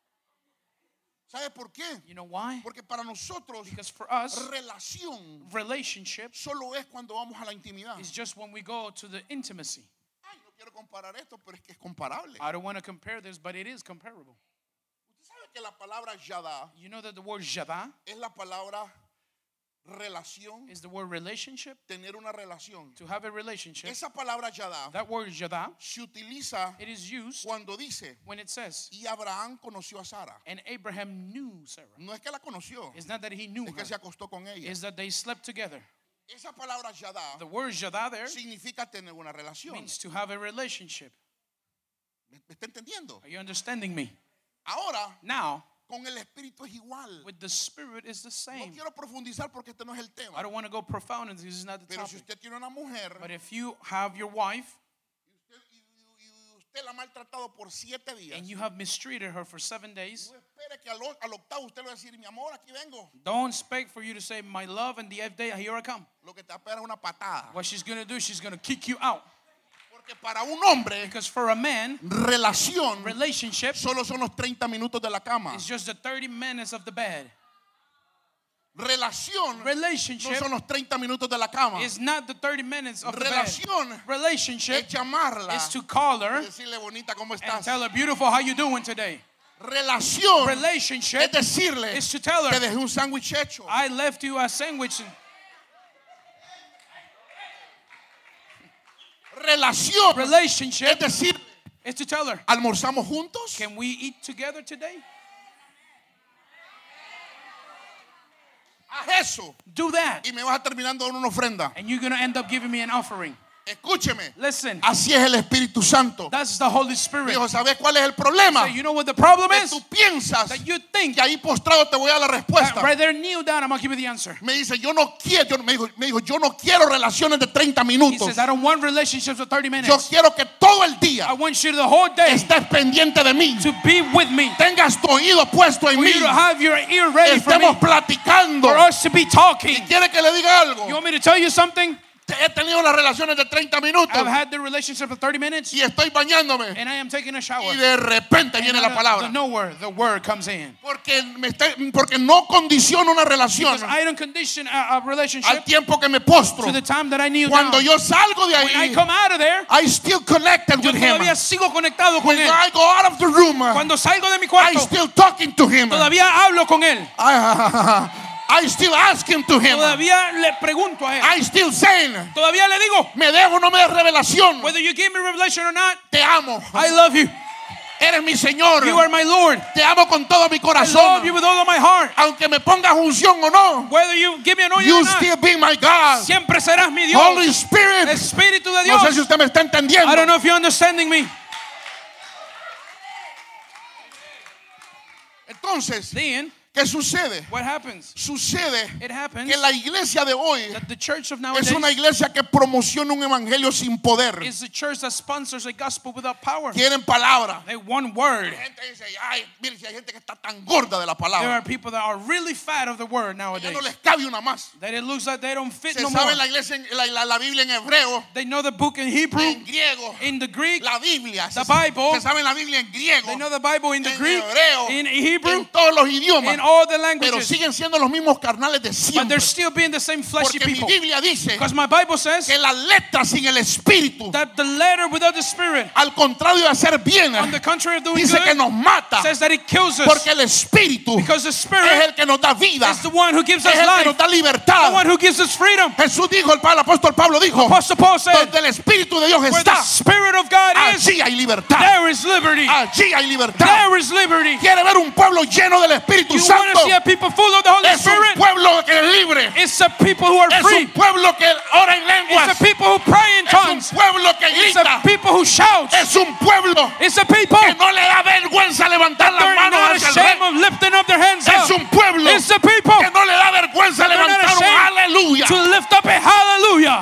¿Sabes por qué? You know why? Porque para nosotros Because for us, relación relationship solo es cuando vamos a la intimidad. is just when we go to the intimacy. Ay, no quiero comparar esto, pero es que es comparable. I don't want to compare this, but it is comparable. Usted sabe que la palabra yada You know that the word jada es la palabra relación, is the word relationship, tener una relación. to have a relationship. Esa palabra yada That word jada, se utiliza it is used cuando dice, when it says, y Abraham conoció a Sara. and Abraham knew Sarah. No es que la conoció, It's not that he knew es que her, se acostó con ella. it's that they slept together. Esa palabra yada The word jada there significa tener una relación. means to have a relationship. ¿Me me está entendiendo? Are you understanding me? Ahora, Now, con el Espíritu es igual. with the Spirit is the No same. quiero profundizar porque este no es el I tema. don't want to go profound into this, is not the Pero si topic. usted tiene una mujer But if you have your wife y usted, y- y- y usted la ha maltratado por siete días, and you have mistreated her for seven days, no espere que al, o- al octavo usted le va a decir, mi amor, aquí vengo. don't expect for you to say, my love, and the eighth day, here I come. Lo que te va a pegar es una patada. What she's going to do, she's going to kick you out. Porque para un hombre, Because for a man, relación relationship solo son los treinta minutos de la cama. is just the thirty minutes of the bed. Relación no Relationship son los treinta minutos de la cama. is not the thirty minutes of the bed. Relación Relationship es llamarla is to call y her decirle, bonita, ¿cómo and estás? tell her, beautiful, how you doing today? Relación es Relationship decirle, is to tell te her, dejé un sándwich hecho. I left you a sandwich. Relación es Relationship decir, is to tell her, almorzamos juntos. can we eat together today? Haz eso Do that. y me vas a terminar dando una ofrenda. And you're going to end up giving me an offering. Escúcheme, Listen, así es el Espíritu Santo. that's the Holy Spirit. Dijo, ¿sabes cuál es el problema? So you know what the problem Que is? tú piensas That you think que ahí postrado te voy a dar la that respuesta. right there, kneel down, I'm going to give you the answer. Me dice, yo no quiero, yo- me, dijo, me dijo, yo no quiero relaciones de treinta He minutos. says, I don't want relationships with thirty Yo minutes. quiero que todo el I día want you the whole day estés pendiente de mí. to be with me. Tengas tu oído puesto en For mí. you to have your ear ready for me. Estemos platicando. For us to be talking. ¿Quiere que le diga algo? You want me to tell you something? He tenido las relaciones de treinta minutos I've had the relationship of thirty minutes y estoy bañándome and I am taking a shower. y de repente And viene out la of palabra. the nowhere, the word comes in. Porque, me está- porque no condiciono una relación Because I don't condition a, a al relationship tiempo que me postro. to the time that I kneel Cuando down. yo salgo de When I ahí, come out of there, I still connected yo with him. todavía sigo conectado con When él. I go out of the room, Cuando salgo de mi I cuarto, still talking to him. todavía hablo con él. I, I still asking to him. Todavía le pregunto a él. I still saying, Todavía le digo, me dejo o no me des revelación. whether you give me revelation or not, Te amo. I love you. Eres mi Señor. You are my Lord. Te amo con todo mi I love corazón. you with all of my heart. Aunque me pongas unción o no, Whether you give me anointing you or not, still be my God. siempre serás mi Dios. Holy Spirit. Espíritu de No sé si Dios. usted me está entendiendo. I don't know if you're understanding me. Entonces, Then, ¿qué sucede? what happens? Sucede It happens que la iglesia de hoy that the church of es nowadays una iglesia que promociona un evangelio sin poder. is the church that sponsors a gospel without power. Quieren palabra. They want word. La gente dice, ay, mire, si hay gente que está tan gorda de la There are palabra, people that are really fat of the word ya nowadays. no les cabe una más. That it looks like they don't fit Se no more. sabe la iglesia, en- la, la, la Biblia en hebreo, They know the book in Hebrew, en griego, in the Greek. la Biblia. The se, Bible. se sabe la Biblia en griego, They know the Bible in the en Greek, hebreo, in Hebrew, en todos los idiomas. in all the pero languages, siguen siendo los mismos carnales de but siempre. they're still being the same fleshy Porque mi people. Biblia dice Because my Bible says que la letra sin el espíritu, that the letter without the spirit, al contrario de hacer bien, on the contrary of doing dice que good, nos mata. says that it kills us. Porque el espíritu Because the es spirit el que nos da vida, is the one who gives us es el que life, nos da the libertad. one who gives us freedom. Jesús dijo, el, el apóstol Pablo dijo, Apostle Paul said, donde el espíritu de Dios where the está, spirit of God is, allí hay libertad. there is liberty. Allí hay libertad. There is liberty. Quiere ver un pueblo lleno del Espíritu You want Santo. to see a people full of the Holy Es un Spirit? pueblo que es libre. It's a people who are Es free. un pueblo que ora en lenguas. It's a people who pray in Es un tongues. pueblo que It's grita. a people who shout. Es un pueblo It's a people que no le da vergüenza levantar las they're manos not hacia el ashamed rey. of lifting up their hands Es up. un pueblo It's a people que no le da vergüenza they're not levantar un ashamed aleluya. to lift up a hallelujah.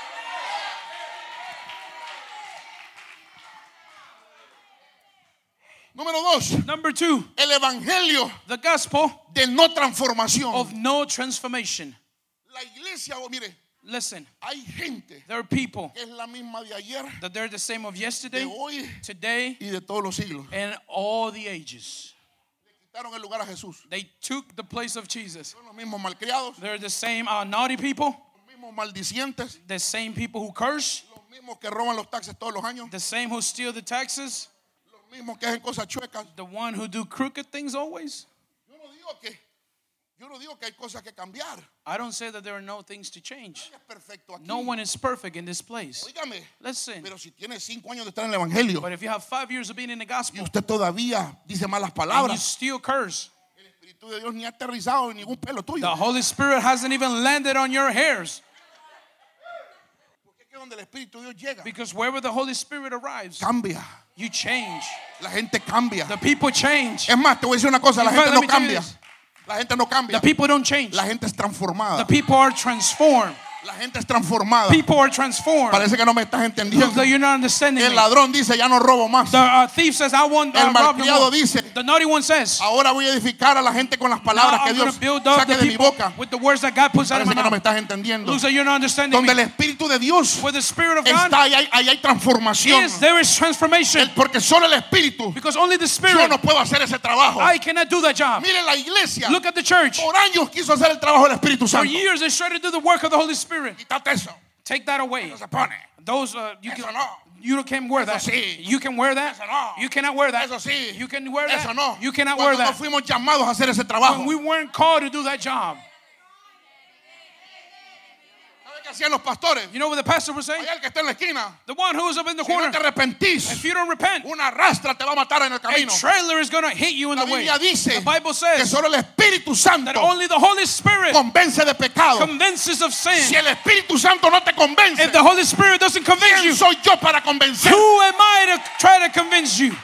Número dos, Number two, el evangelio the gospel de no transformación. of no transformation. La iglesia, oh, mire, Listen, hay gente there are people que es la misma de ayer, that they're the same of de yesterday, hoy today, y de todos los siglos. and all the ages. Quitaron el lugar a Jesús. They took the place of Jesus. Son los mismos malcriados, They're the same uh, naughty people, los mismos maldicientes, the same people who curse, los mismos que roban los taxes todos los años, the same who steal the taxes, los mismos que hacen cosas chuecas. the one who do crooked things always. Yo no digo que, yo no digo que hay cosas que cambiar. I don't say that there are no things to change. Nadie es perfecto aquí. No one is perfect in this place. Óigame, Listen, pero si tiene cinco años de estar en el evangelio but if you have five years of being in the y gospel usted todavía dice malas and you palabras, still curse, el Espíritu de Dios ni ha aterrizado en ningún pelo tuyo. the Holy Spirit hasn't even landed on your hairs. Porque es que donde el Espíritu de Dios llega, Because wherever the Holy Spirit arrives, cambia. you change. La gente cambia. The people change. Es más, te voy a decir una cosa, la In fact, gente let no me tell you cambia. this. La gente no cambia. The people don't change. La gente es The transformada. people are transformed. La gente es transformada. People are transformed. Parece que no me estás entendiendo. Looks like you're not understanding El me. ladrón dice, ya no robo más. The uh, thief says, I won't uh, El rob no malcriado more. dice, The naughty one says, ahora voy a edificar a la gente con las now palabras que I'm going Dios to build up saque the de mi people boca. with the words that God puts out of Parece my que no me mouth. estás entendiendo. Looks like you're not understanding Donde el me. Espíritu de Dios Where the Spirit of God está, ahí hay, ahí hay transformación. is, there is transformation. El- porque solo el Espíritu, Because only the yo Spirit, no puedo hacer ese trabajo. I cannot do that job. Mire, la iglesia Look at the church. por años quiso hacer el trabajo del Espíritu For Santo. years they tried to do the work of the Holy Spirit. Quítate eso. Take that away. No se pone. Those uh, you Eso can no. you can wear that. Eso sí. You can wear that. Eso no. You cannot wear that. Eso sí. You can wear that. Eso no. You cannot wear Cuando no that. fuimos llamados a hacer ese trabajo. When we weren't called to do that job. ¿Sabe qué hacían los pastores? You know what the pastor was saying? Allá el que está en la esquina. The one who was up in the Si no corner. te arrepentís, If you don't repent, una rastra te va a matar en el a camino. trailer is going to hit you in La the way. Biblia dice The Bible que says solo el Espíritu that Santo only the Holy Spirit convence de pecado. convinces of Si sin. el Espíritu Santo no te convence, If the Holy Spirit doesn't convince ¿quién you, soy yo para convencer? who am I to try to convince you?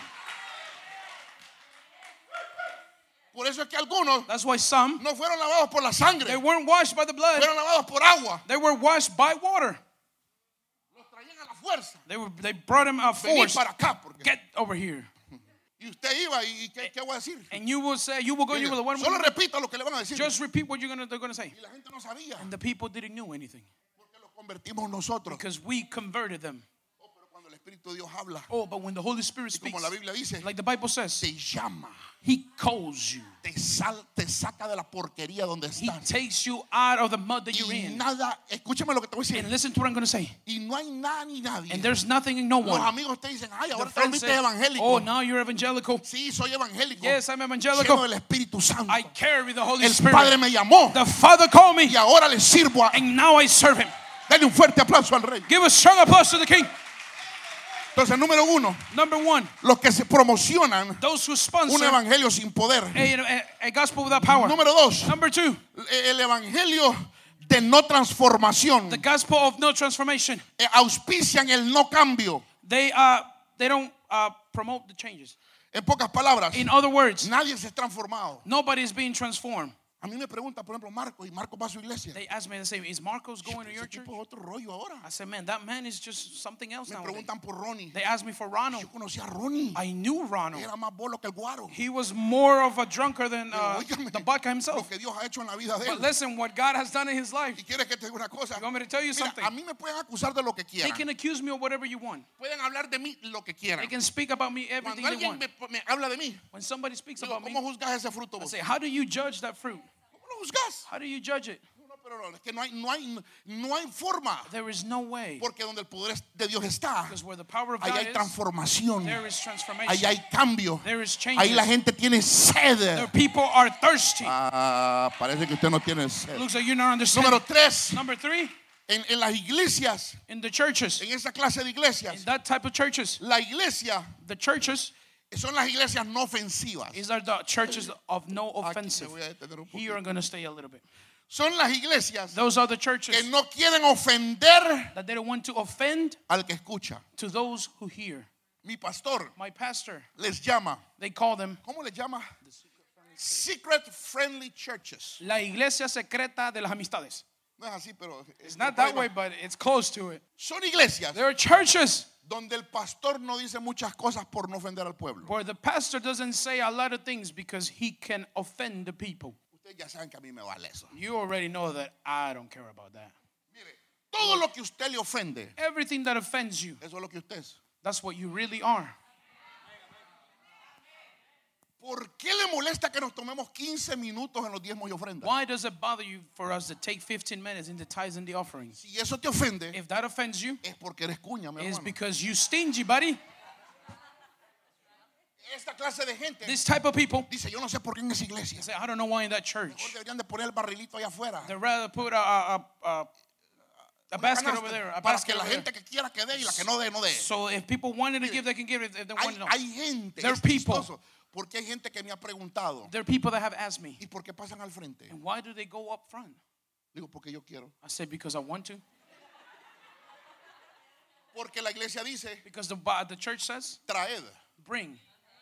Por eso es que algunos That's why some, no fueron lavados por la sangre, they weren't washed by the blood. fueron lavados por agua. They were washed by water. Los traían a la fuerza. They were they brought him out Vení force. para acá. Porque... Get over here. Y usted iba y ¿qué, qué voy a decir? And you will say, you will go, you will what Solo repita lo que le van a decir. just repeat what you're gonna they're gonna say. Y la gente no sabía And the people didn't know anything. porque lo convertimos nosotros. Because we converted them. Oh, pero cuando el Espíritu de Dios habla, Oh, but when the Holy Spirit y como speaks, la Biblia dice, like the Bible says, te llama, He calls you. te, sal, te saca de la porquería donde He estás. takes you out of the mud that you're Y in. nada, escúchame lo que te voy a And decir. listen to what I'm gonna say. Y no hay nada ni nadie. And there's nothing in no Los one. amigos te dicen, ay, The ahora te friends volviste say, evangélico. oh, now you're evangelical. Sí, soy evangélico. Yes, I'm Lleno evangelical. del Espíritu Santo. I carry the Holy El Padre Spirit. me llamó The Father called me, y ahora le sirvo a... and now I serve Him. Dale un fuerte aplauso al Rey. Give a strong applause to the King. Entonces, número uno, Number one, los que se promocionan those who un sponsor evangelio sin poder. a, a, a gospel without power. Número dos, Number two, el evangelio de no transformación. the gospel of no transformation. Eh, auspician el no cambio. They uh they don't uh promote the changes. En pocas palabras, In other words, nadie se ha transformado. nobody is being transformed. A mí me pregunta, por ejemplo, Marco, y Marco va a su iglesia. They asked me the same, is Marcos going to your Ese church? tipo es otro rollo ahora. I said, man, that man is just something else Me now. preguntan por Ronnie. They asked me for Ronald. Yo conocí a Ronnie. I knew Ronald. Era más bolo que el guaro. He was more of a drunkard than uh, Pero, óigame, the vodka lo himself. que Dios ha hecho en la vida de But él. listen, what God has done in his life. Y quieres que te diga una cosa. You want me to tell you Mira, something? a mí me pueden acusar de lo que They quieran. can accuse me of whatever you want. Pueden hablar de mí lo que quieran. They can speak about me everything Cuando they alguien want. me, me habla de mí, When somebody speaks digo, about me, ¿cómo juzgas ese fruto I vos? say, how do you judge that fruit? ¿Cómo lo juzgas? How do you judge it? No, no, pero no, es que no hay, no hay, no hay forma. There is no way. Porque donde el poder de Dios está, Because where the power of ahí God hay is, transformación, there is transformation. ahí hay cambio, There is ahí changes. la gente tiene sed. The people are thirsty. Ah, parece que usted no tiene sed. Looks like you're not understanding. Número tres, Number three, en, en las iglesias, in the churches, en esa clase de in iglesias, that type of churches, la iglesia the churches, son las iglesias no ofensivas. these are the churches of no Aquí me offensive. voy a detener un poquito. Here I'm going to stay a little bit. Son las iglesias Those are the que churches no quieren ofender that they don't want to offend al que escucha. to those who hear. Mi pastor My pastor, les llama, they call them ¿cómo les llama? Secret friendly churches. la iglesia secreta de las amistades. No es así, pero It's not that way, but it's close to it. son iglesias There are churches donde el pastor no dice muchas cosas por no ofender al pueblo. where the pastor doesn't say a lot of things because he can offend the people. Ustedes ya saben que a mí me vale eso. You already know that I don't care about that. Mire, todo lo que usted le ofende, Everything that offends you, eso es lo que usted es. that's what you really are. ¿Por qué le molesta que nos tomemos quince minutos en los diezmos y ofrendas? Why does it bother you for us to take fifteen minutes in the tithes and the offerings? Si eso te ofende, If that offends you, es porque eres cuña, mi it's hermano. because you stingy, buddy. Esta clase de gente This type of people dice, yo no sé por qué en esa iglesia. say, I don't know why in that Mejor church. deberían de poner el barrilito allá afuera. They'd rather put a, a, a, a, a Una basket canasta, over there, a para basket que la over there. gente que quiera que dé y la que no dé, no dé. So if people wanted to give, they can give it. If they Hay, want to know. hay gente, There es are people. chistoso, porque hay gente que me ha preguntado, There are people that have asked me, ¿y por qué pasan al frente? and why do they go up front? Digo, porque yo quiero. I said, because I want to. Porque la iglesia dice, Because the, Bi- the church says, traed. bring.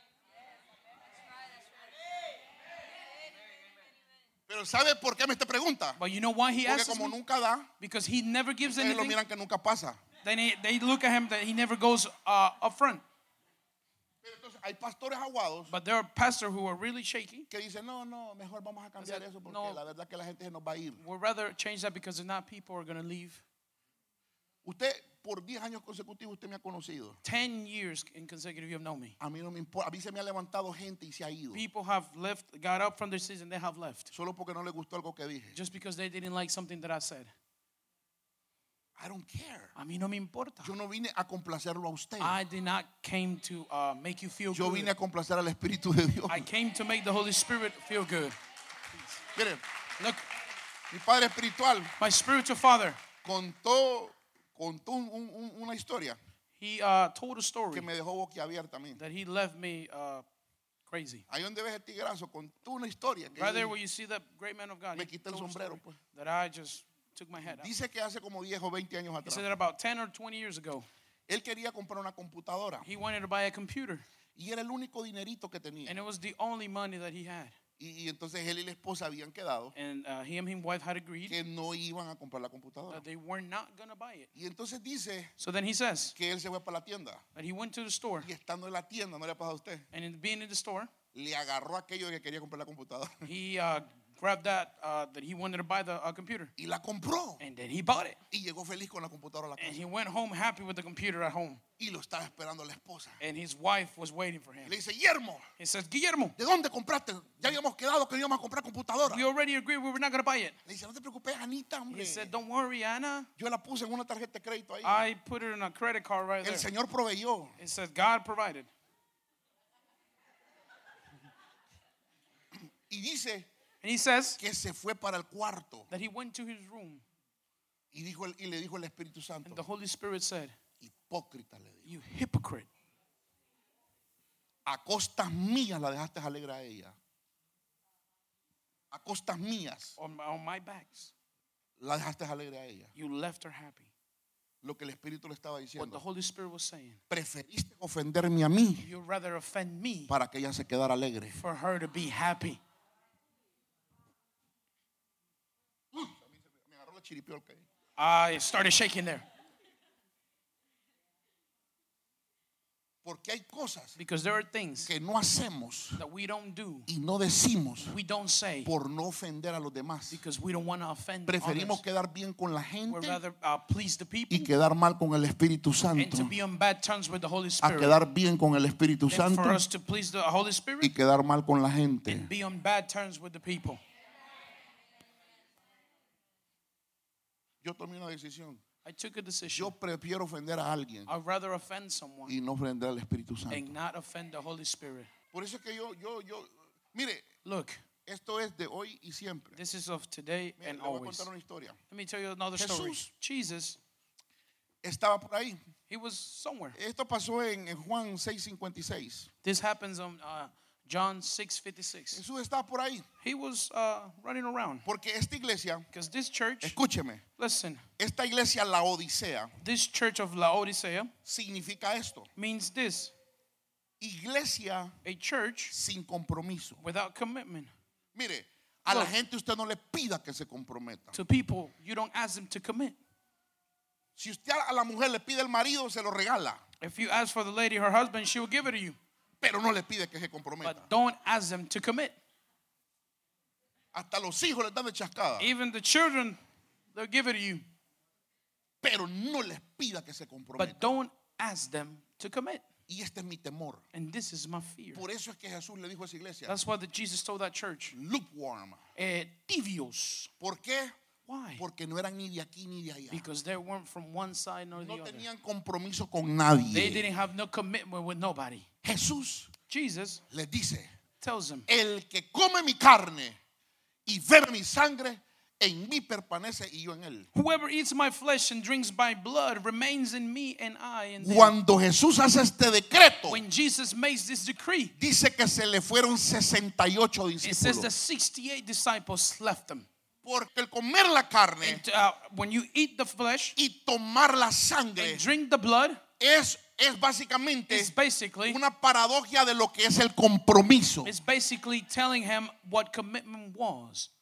Pero ¿sabe por qué me te pregunta? But you know why he Porque asks como me? nunca da, Because he never gives ustedes lo anything. miran que nunca pasa. Then they, they look at him that he never goes uh, up front. Pero entonces hay pastores aguados But there are pastors who are really shaky. que dicen, no, no, mejor vamos a cambiar said, eso porque no. la verdad que la gente se nos va a ir. We'd rather change that because if not, people are going to leave. Usted, por diez años consecutivos, usted me ha conocido. Ten years in consecutive, you have known me. A mí no me importa, a mí se me ha levantado gente y se ha ido. People have left, got up from their seats, and they have left. Solo porque no le gustó algo que dije. Just because they didn't like something that I said. I don't care. A mí no me importa. Yo no vine a complacerlo a usted. I did not came to uh, make you feel Yo good. vine a complacer al Espíritu de Dios. I came to make the Holy Spirit feel good. Miren, Look, mi padre espiritual my spiritual father, contó, contó un- un- una historia he uh, told a story que me dejó boquiabierta a mí. that he left me uh, crazy. Ahí donde ves el tigrazo, contó una historia que Right there yo- where you see that great man of God, me he quité el told a sombrero, story pues. that I just took my head out. Dice que hace como diez o veinte años He atrás, said that about ten or twenty years ago, él quería comprar una computadora he wanted to buy a computer, y era el único dinerito que tenía. and it was the only money that he had. Y, y entonces él y la esposa habían quedado And uh, he and his wife had agreed que no iban a comprar la computadora. that they were not going to buy it. Y entonces dice So then he says que él se fue para la tienda that he went to the store, y estando en la tienda, no le ha pasado a usted, and in being in the store, le agarró aquello de que quería comprar la computadora he uh, grabbed that uh, that he wanted to buy the uh, computer, y la compró and then he bought it. y llegó feliz con la computadora a la And casa he went home happy with the computer at home, y lo estaba esperando la esposa. and his wife was waiting for him. Le dice, Guillermo, He says, Guillermo, ¿de dónde compraste? Ya habíamos quedado que íbamos a comprar computadora. we already agreed we were not going to buy it. Le dice, no te preocupes, Anita, hombre. He said, don't worry, Anna. Yo la puse en una tarjeta de crédito ahí. I put it in a credit card right El there. Señor proveyó. It says God provided. Y dice And he says que se fue para el cuarto that he went to his room, y, dijo el- y le dijo el Espíritu Santo, and the Holy Spirit said, hipócrita, le dijo, you hypocrite. a costas mías la dejaste alegre a ella. A costas mías On my, on my backs, la dejaste alegre a ella. you left her happy. Lo que el Espíritu le estaba What the diciendo. Holy Spirit was saying, Preferiste ofenderme a mí you'd rather offend me para que ella se quedara alegre. for her to be happy. chiripió el que. I started shaking there. Porque hay cosas Because there are things que no hacemos that we don't do, y no decimos we don't say, por no ofender a los demás. because we don't want to offend Preferimos others. quedar bien con la We'd gente rather uh, please the people y quedar mal con el Espíritu and Santo to be on bad terms with the Holy a Spirit quedar bien con el Espíritu than Santo for us to please the Holy y Spirit quedar mal con la gente. and be on bad terms with the people. Yo tomé una decisión. I took a decision. Yo prefiero ofender a alguien I'd rather offend someone y no ofender al Espíritu Santo. and not offend the Holy Spirit. Por eso es que yo, yo, yo, mire, Look, esto es de hoy y siempre. this is of today Mire, and le voy a always. contar una historia. Let me tell you another story. Jesús Jesus, Estaba por ahí. he was somewhere. Esto pasó en, en Juan seis cincuenta y seis. This happens on uh, John six fifty-six. Jesús estaba por ahí. He was uh, running around Porque esta iglesia, because this church, escúcheme, listen, esta iglesia, la Odisea, this church of Laodicea significa esto. means this: Iglesia a church sin compromiso. without commitment. Mire, a la Look. gente usted no le pida que se comprometa. To people, you don't ask them to commit. Si usted a la mujer le pide el marido, se lo regala. If you ask for the lady, her husband, she will give it to you. Pero no le pide que se comprometa. But don't ask them to commit. Hasta los hijos les dan de chascada. Even the children, they'll give it to you. Pero no les pida que se comprometa. But don't ask them to commit. Y este es mi temor. And this is my fear. Por eso es que Jesús le dijo a esa iglesia, That's why the Jesus told that church, lukewarm. eh, tibios. ¿Por qué? Why? Porque no eran ni de aquí ni de allá. Because they weren't from one side nor the No other. tenían compromiso con They nadie. didn't have no commitment with nobody. Jesús Jesus les dice, tells them, el que come mi carne y bebe mi sangre, en mí permanece y yo en él. whoever eats my flesh and drinks my blood remains in me and I in them. Cuando Jesús hace este decreto, When Jesus makes this decree, dice que se le fueron sesenta y ocho it says the discípulos. sixty-eight disciples left them. Porque el comer la carne And, uh, when you eat the flesh y tomar la sangre and drink the blood, es, es básicamente it's basically una paradoja de lo que es el compromiso. it's basically telling him what commitment was.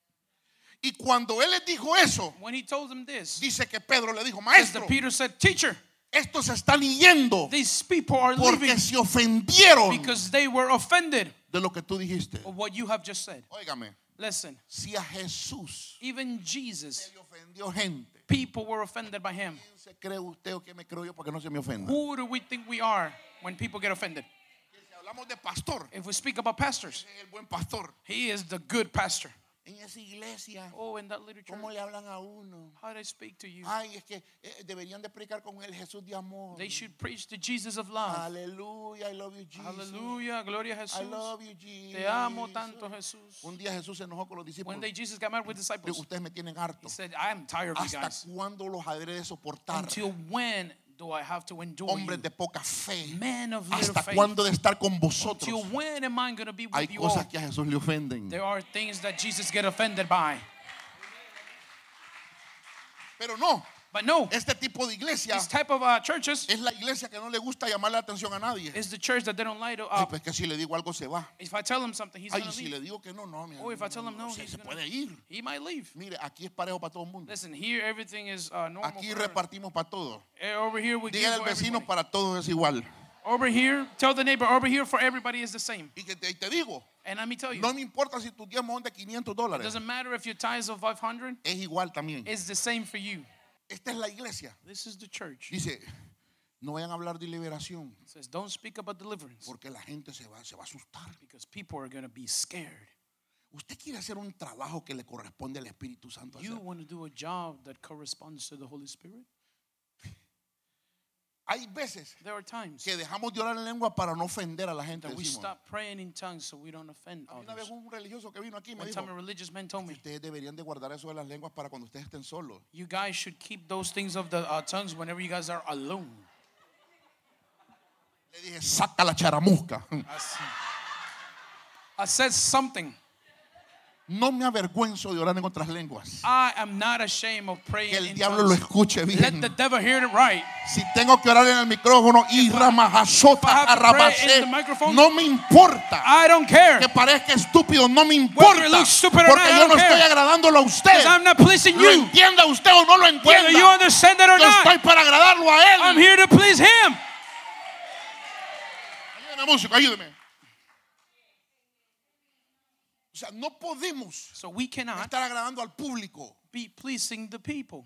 Y cuando él les dijo eso, When he told them this, dice que Pedro le dijo, says maestro, that Peter said, "Teacher, estos se están yendo these people are porque leaving se ofendieron because they were offended de lo que tú dijiste. of what you have just said." Óigame, Listen, si a Jesús even Jesus, se le ofendió gente, people were offended by him. ¿quién se cree usted o qué me creo yo para que no se me ofenda? Who do we think we are when people get offended? Si hablamos de pastor, If we speak about pastors, ese es el buen pastor. he is the good pastor. En esa iglesia, Oh, in that little church, ¿cómo le hablan a uno? how do I speak to you? Ay, es que eh, deberían de predicar con el Jesús de amor. They should preach the Jesus of love. Aleluya, I love you, Jesus. Hallelujah, gloria a I Jesús. love you, Jesus. Te amo tanto, Jesús. Un día Jesús se enojó con los discípulos. One day Jesus got mad with Dijo, disciples. ustedes me tienen He harto. said, I am tired of you ¿Hasta guys. cuándo los habré de soportar? Until when do I have to endure Hombres you? de poca fe. Man of little ¿Hasta faith. cuándo de estar con Until vosotros? when am I going to be Hay with you all? cosas que a Jesús le ofenden. There are things that Jesus get offended by. Pero no, But no, este tipo de iglesia this type of uh, churches es la iglesia que no le gusta llamar la atención a nadie. is the church that they don't light Ay, up. pues que si le digo algo se va. If I tell him something, he's Ay, going to si leave. le digo que no, no, mi Oh, if I tell him no, se, he's se gonna- puede ir. He might leave. Mire, aquí es parejo para todo el mundo. Listen, here everything is uh, normal. Aquí for everyone. repartimos para todos. Eh, Over here we give Dígale al for vecino, everybody. para todos es igual. Over here, tell the neighbor, over here for everybody is the same. Y que te, y te digo, And let me tell you, no me importa si tus diezmos son de quinientos it dólares. doesn't matter if your tithes of five hundred, Es igual también. it's the same for you. Esta es la iglesia. This is the church. Dice, no vayan a hablar de liberación It says, don't speak about deliverance porque la gente se va, se va a asustar. because people are going to be scared. Usted quiere hacer un trabajo que le corresponde al Espíritu Santo You hacer. want to do a job that corresponds to the Holy Spirit? Hay veces There are times que dejamos de orar en lengua para no ofender a la gente. that we Decimos. stop praying in tongues so we don't offend A mí una vez others. un religioso que vino aquí me One dijo, time a religious man told me, ustedes deberían de guardar eso de las lenguas para cuando ustedes estén solos. you guys should keep those things of the uh, tongues whenever you guys are alone. Le dije, saca la charamusca. I, see. I said something. No me avergüenzo de orar en otras lenguas. I am not ashamed of praying Que el in diablo tongues. lo escuche Let bien. the devil hear it right. Si tengo que orar en el micrófono y if I ramajazota, have to arrabacé, pray in the microphone, no me importa. I don't care. Que parezca estúpido, no me Whether importa. it looks stupid or Porque not, I yo no don't estoy care. agradándolo a usted. Because I'm not pleasing Lo you. entienda usted o no lo Whether you entienda. understand it or Yo not, estoy para agradarlo a él. I'm here to please him. Ayúdeme, músico, ayúdeme. O sea, no podemos So we cannot estar agradando al público. be pleasing the people.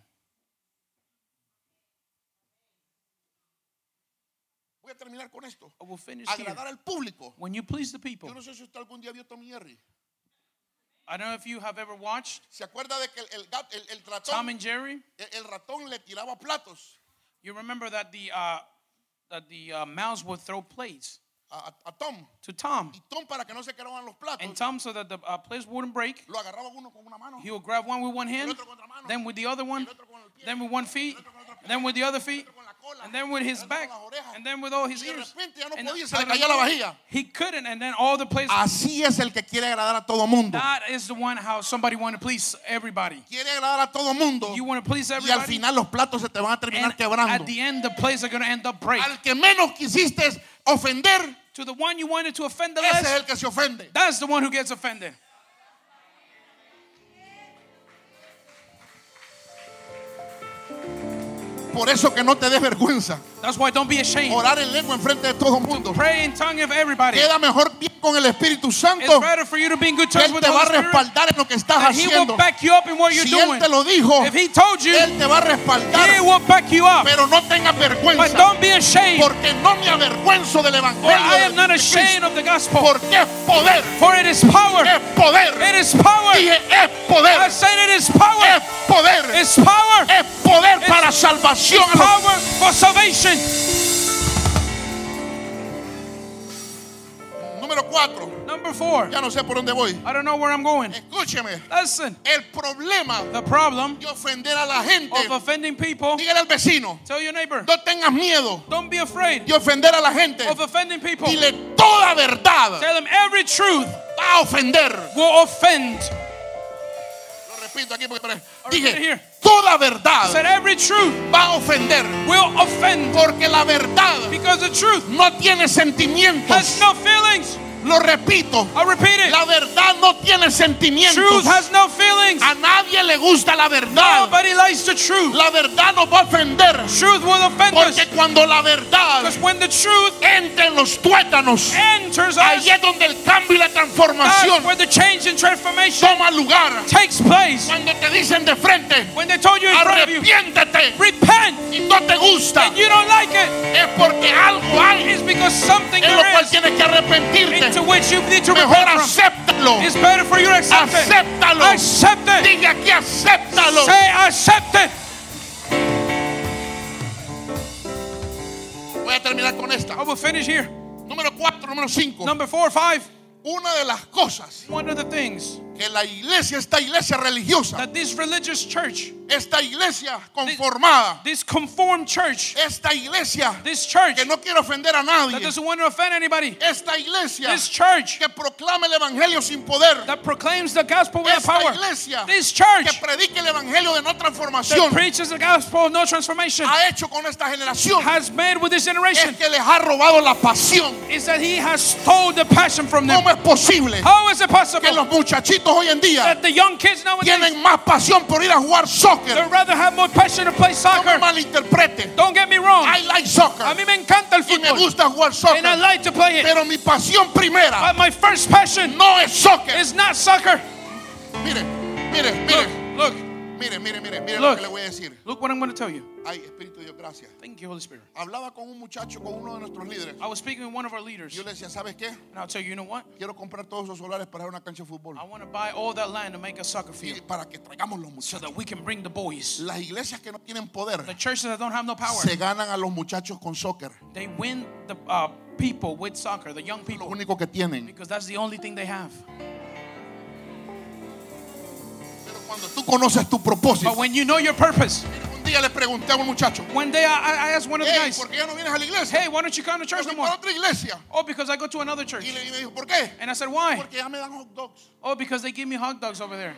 Voy a terminar con esto. I will finish here. Agradar al público. When you please the people. Yo no sé si usted algún día vio Tom y Jerry. I don't know if you have ever watched ¿Se acuerda de que el, el, gat- el, el Tom ratón, and Jerry. el, el ratón le tiraba platos You remember that the uh, that the uh, mouse would throw plates a, a- a Tom? to Tom, Y Tom, para que no se quedaban los platos, and Tom, so that the uh, plates wouldn't break, lo agarraba uno con una mano, he would grab one with one el hand, otro con otra mano, then with the other one, el otro con el pie, then with one feet, then with the other feet, con la cola, and then with his el otro back, con las orejas. and then with all his Y de ears. repente ya no And podía, se out le of caía la nowhere, vajilla. he couldn't, and then all the plates. Así es el que quiere agradar a todo mundo. That is the one how somebody want to please everybody. Quiere agradar a todo mundo. You want to please Y al everybody, final los platos se te van a terminar and quebrando. at the end the plates are going to end up break. Al que menos quisiste ofender, To the one you wanted to offend the ese es less, el que se ofende. that's the one who gets offended. Por eso que no te des vergüenza. That's why don't be ashamed. Orar en lengua enfrente de todo el mundo. Pray in tongue of everybody. Queda mejor bien con el Espíritu It's Santo. better for you to be in good Que terms Él with te the va a Holy Spirit. respaldar en lo que estás And he will haciendo. back you up in what you're Si Él doing. te lo dijo, If he told you, Él te va a respaldar. he will back you up. Pero no tengas But vergüenza. don't be ashamed. Porque no me avergüenzo del For Evangelio I de am not ashamed Cristo. of the gospel. Porque es poder. For it is power. Es poder. It is power. Dije, es poder. I said it is power. Es poder. It's power. Es poder It's- para salvación. It's power for salvation. Número cuatro. Number four. Ya no sé por dónde voy. I don't know where I'm going. Escúcheme. Listen. El problema The problem de ofender a la gente. of offending people. Dígale al vecino. Tell your neighbor. No tengas miedo Don't be afraid de ofender a la gente. of offending people. Dile toda verdad Tell them every truth va a ofender. will offend. Lo repito aquí porque Or repeat it dije here. toda verdad Said every truth va a ofender. will offend. Porque la verdad Because the truth no tiene sentimientos. has no feelings. Lo repito. I'll repeat it. La verdad no tiene sentimientos. Truth has no feelings. A nadie le gusta la verdad. Nobody likes the truth. La verdad nos va a ofender. Truth will offend us. Porque cuando la verdad Because when the truth entra en los tuétanos, enters us, ahí es donde el cambio y la transformación that's where the change and transformation toma lugar. takes place. Cuando te dicen de frente, When they told you in front of you, arrepiéntete repent, y no te gusta, and you don't like it, es porque algo hay it's because something en lo there cual is tienes que arrepentirte. into which you need to Mejor repent from. acéptalo. It's better for you to accept it. Acéptalo. Accept it. Diga aquí, acéptalo. Say accept it. Voy a terminar con esta. I will finish here. Número cuatro, número cinco. Number four or five. Una de las cosas One of the things que la iglesia, esta iglesia religiosa, that this religious church, esta iglesia conformada, this conformed church, esta iglesia this church que no quiere ofender a that nadie, doesn't want to offend anybody, esta iglesia this church que proclama el evangelio sin poder, that proclaims the gospel without esta power, iglesia this que church predica el evangelio de no that transformación, preaches the gospel of no transformation, ha hecho con esta generación has made with this generation es que les ha robado la pasión. is that he has stole the passion from them. ¿Cómo es posible How is it que possible los muchachitos hoy en día that the young kids nowadays tienen más pasión por ir a jugar they'd soccer? rather have more passion to play No me soccer? malinterprete. Don't get me wrong. I like soccer A mí me encanta el y me fútbol gusta jugar and I soccer, like to play it. pero mi pasión primera But my first passion no es soccer. is not soccer. Mire, mire, Look, mire, look, mire, mire, mire, mire lo Look. que le voy a decir. look what I'm going to tell you. Ay, Espíritu de Dios, gracias. Thank you, Holy Spirit. Hablaba con un muchacho, con uno de nuestros líderes. I was speaking with one of our leaders, Yo le decía, ¿sabes qué? and I'll tell you, you know what? Quiero comprar todos esos solares para una cancha de fútbol. I want to buy all that land to make a soccer Y field para que traigamos los so muchachos. that we can bring the boys. Las iglesias que no tienen poder The churches that don't have no power, se ganan a los muchachos con soccer. they win the uh, people with soccer, the young Lo people, único que tienen. because that's the only thing they have. Pero cuando tú conoces tu propósito, But when you know your purpose, mira, un Un día le pregunté a un muchacho, One day I, I asked one of the hey, guys, ¿por qué ya no vienes a la iglesia? hey, why don't you come to church Yo no voy more? para otra iglesia. Oh, because I go to another church. Y le, y me dijo, ¿por qué? And I said, why? Porque ya me dan hot dogs. Oh, because they give me hot dogs over there.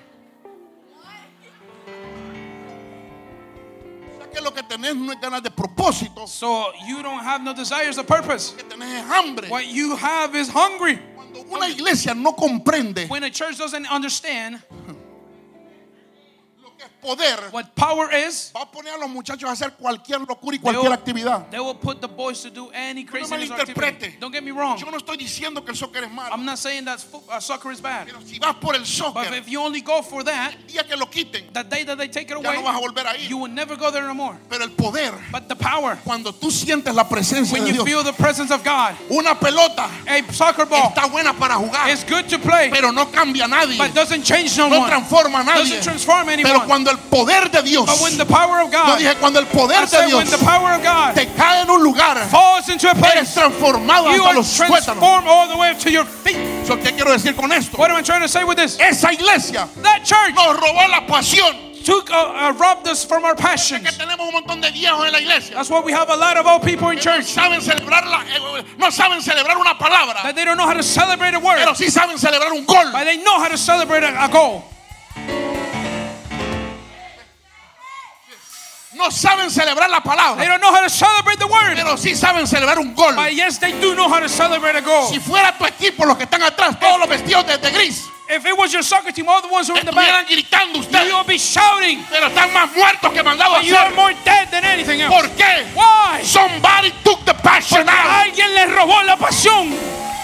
O sea que lo que tenés no es ganas de propósito, So you don't have no desires of purpose. lo que tenés es hambre. What you have is hungry. Cuando una iglesia no comprende When a church doesn't understand lo que es poder, what power is, va a poner a los muchachos a hacer cualquier locura y cualquier actividad. they will put the boys to do any No me craziness or malinterprete. activity. Don't get me wrong. Yo no estoy diciendo que el soccer es malo, I'm not saying that fo- uh, soccer is bad. pero si vas por el But soccer, if you only go for that, el día que lo quiten, the day that they take it ya no vas a away, volver a ir. you will never go there no more. Pero el poder, But the power, cuando tú sientes la presencia when de you Dios, feel the presence of God, una pelota a soccer ball está buena para jugar, is good to play, pero no cambia a nadie, but doesn't change no no one. transforma a nadie. Doesn't transform Pero anyone. cuando el poder de Dios, But when the power of no God, dije cuando el I poder de said when Dios the power of God te cae en un lugar, falls into a eres place, transformado you hasta are los tuétanos. transformed all the way up to your feet. So, ¿qué quiero decir con esto? What am I trying to say with this? Esa iglesia That church nos robó la pasión. took, uh, uh, robbed us from our passions. Que tenemos un montón de viejos en la iglesia. That's why we have a lot of old people in Que no church saben celebrar la, eh, no saben celebrar una palabra, that they don't know how to celebrate a word, pero sí saben celebrar un gol. but they know how to celebrate a, a goal. No saben celebrar la They palabra, don't know how to celebrate the word, pero sí saben celebrar un gol. but yes, they do know how to celebrate a goal. Si fuera tu equipo los que están atrás, todos los vestidos de, de gris, If it was your soccer team, all the ones who are in the estuvieran back, gritando ustedes, you will be shouting, pero están más muertos que mandados a but you are hacer. more dead than anything else. ¿Por qué? Why? Somebody took the passion Porque out. alguien les robó la pasión.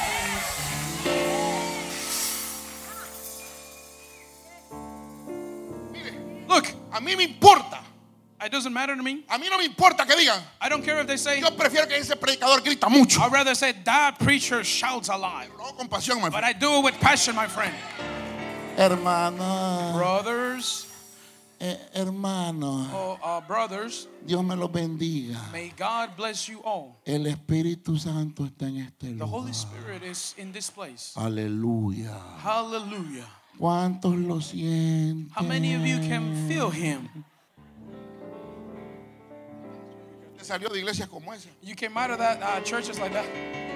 Look, A mí me importa. it doesn't matter to me. A mí no me importa que digan. I don't care if they say, Yo prefiero que ese predicador grita mucho. I'd rather say that preacher shouts a lot. Lo hago con pasión, my But friend. I do it with passion, my friend. Hermano, Brothers, eh, hermano, oh, uh, brothers, Dios me los bendiga. may God bless you all. El Espíritu Santo está en este The Holy lugar. Spirit is in this place. Aleluya. Hallelujah. ¿Cuántos lo sienten? How many of you can feel Him? Usted salió de iglesias como esa. You came out of that uh, churches like that.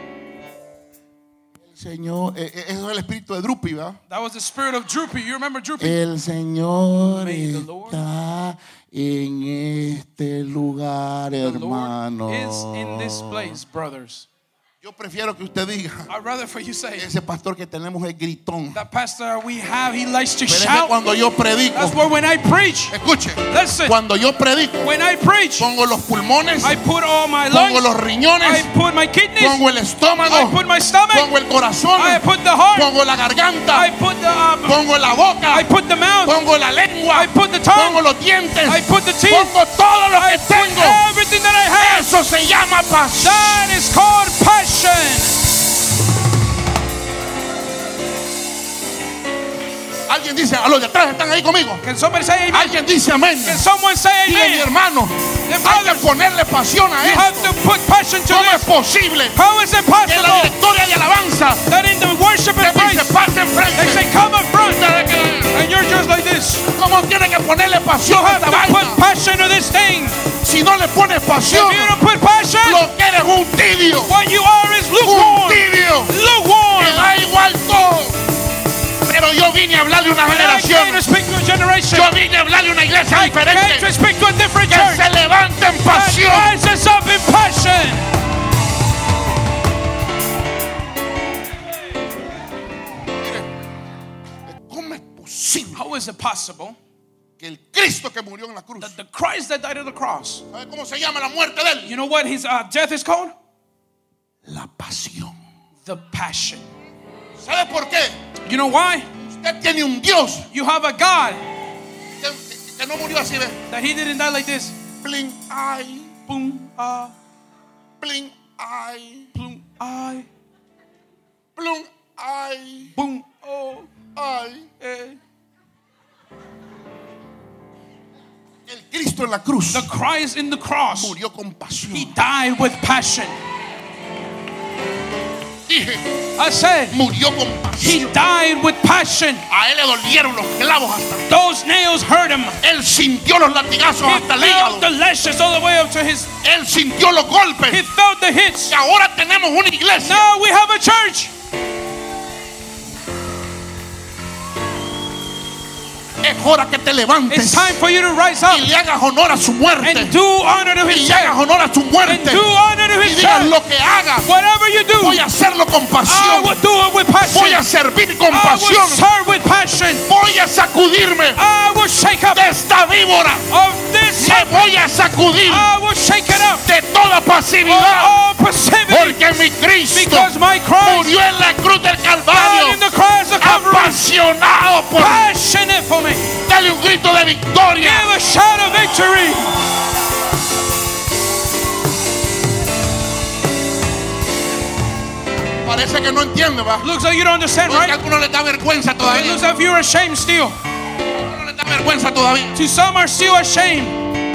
El Señor, eh, eh, eso es el espíritu de Drupi, ¿verdad? That was the spirit of Droopy. You remember Droopy? El Señor May the Lord- está en este lugar, The Lord hermano. is in this place, brothers. Yo prefiero que usted diga, I'd rather for you say, ese pastor que tenemos es gritón. that pastor we have, he likes to Pero es que shout. cuando yo predico, That's why when I preach, escuche, listen, cuando yo predico, when I preach, pongo los pulmones, I put all my pongo lungs, los I riñones, put my kidneys, pongo el I estómago, put my stomach, pongo el corazón, I put the heart, pongo la I garganta, put the um, pongo la boca, I put the mouth, pongo la lengua, I put the pongo tongue, los dientes, I put the teeth, pongo todo lo que I put tengo. everything that I have. Eso se llama pasión. That is called passion. Alguien dice, a los de atrás están ahí conmigo. Can somebody say amen? Alguien dice amén. Can someone say Dile, mi amen? hermano, The hay que brothers, ponerle pasión a you have esto. to put passion to ¿Cómo es this. posible How is it que la possible directoria de alabanza that in the worship te and dice praise, pase they enfrente? say come up front, Ustedes que- and you're just like this? ¿Cómo tiene que ponerle You pasión a have esta to put vaina? passion to this thing. Si no le pones pasión, If you don't put passion, lo que eres un tibio. what you are is Un lukewarm. tibio. Te Lukewarm. da igual todo. Pero yo vine a hablar de una And I came to generación. speak to a generation. Yo vine a hablar de una iglesia I came to diferente. speak to a different Que church se levante en that pasión. rises up in passion. ¿Cómo es posible How is it possible que el Cristo que murió en la cruz, that the Christ that died on the cross, ¿sabe cómo se llama la muerte de él? you know what his uh, death is called? La pasión. The passion. ¿Sabe por qué? You know why? Usted tiene un Dios You have a God que, que- que no murió así, ¿ve? that he didn't die like this. Blink, ay, Boom, ah, blink, ay, boom, ay, blink, ay, boom, oh, ay. eh. El Cristo en la cruz The Christ in the cross, murió con pasión. he died with passion. Dije, I said, murió con he pasión. died with passion. A él le dolieron los clavos hasta. Those nails hurt him. Él sintió los latigazos He hasta el felt hígado. the lashes all the way up to his. Él sintió los He golpes. felt the hits. Y ahora tenemos una iglesia. Now we have a church. Es hora que te It's levantes time for you to rise up y le hagas honor a su muerte. and do honor to Y his le hagas death. honor a su And muerte. do honor to Y his digas death. lo que hagas. Whatever you do, Voy a hacerlo con I pasión. will do it with passion. Voy a servir con I will pasión. serve with passion. Voy a sacudirme I will shake up de esta víbora. of this. Me voy a sacudir I will shake it up de toda of pasividad. all passivity. Porque mi Cristo Because my Christ murió en la cruz del died Calvario. in the cross of Calvary. Apasionado por mí. Passionate for me. Dale un grito de victoria. Give a shout of victory. Parece que no entiende, va. Looks like you don't understand, Porque a right? algunos les da vergüenza It todavía. looks like you're ashamed still. A algunos les da vergüenza todavía. To some are still ashamed.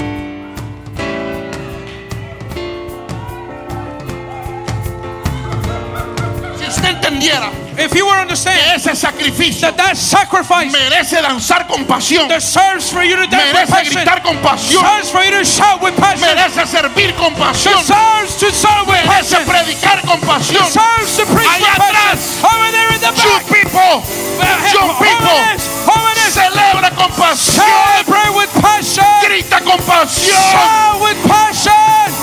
Si usted entendiera If you were to que understand ese sacrificio that that sacrifice merece danzar con pasión, deserves for you to dance with merece passion, gritar con pasión, deserves for you to shout with passion, merece servir con pasión, deserves to serve with merece passion, predicar con pasión. deserves to preach Allá with passion. atrás, Over there in the You back, people, you people, jóvenes, jóvenes, celebra con pasión, celebrate with passion, grita con pasión. shout with passion.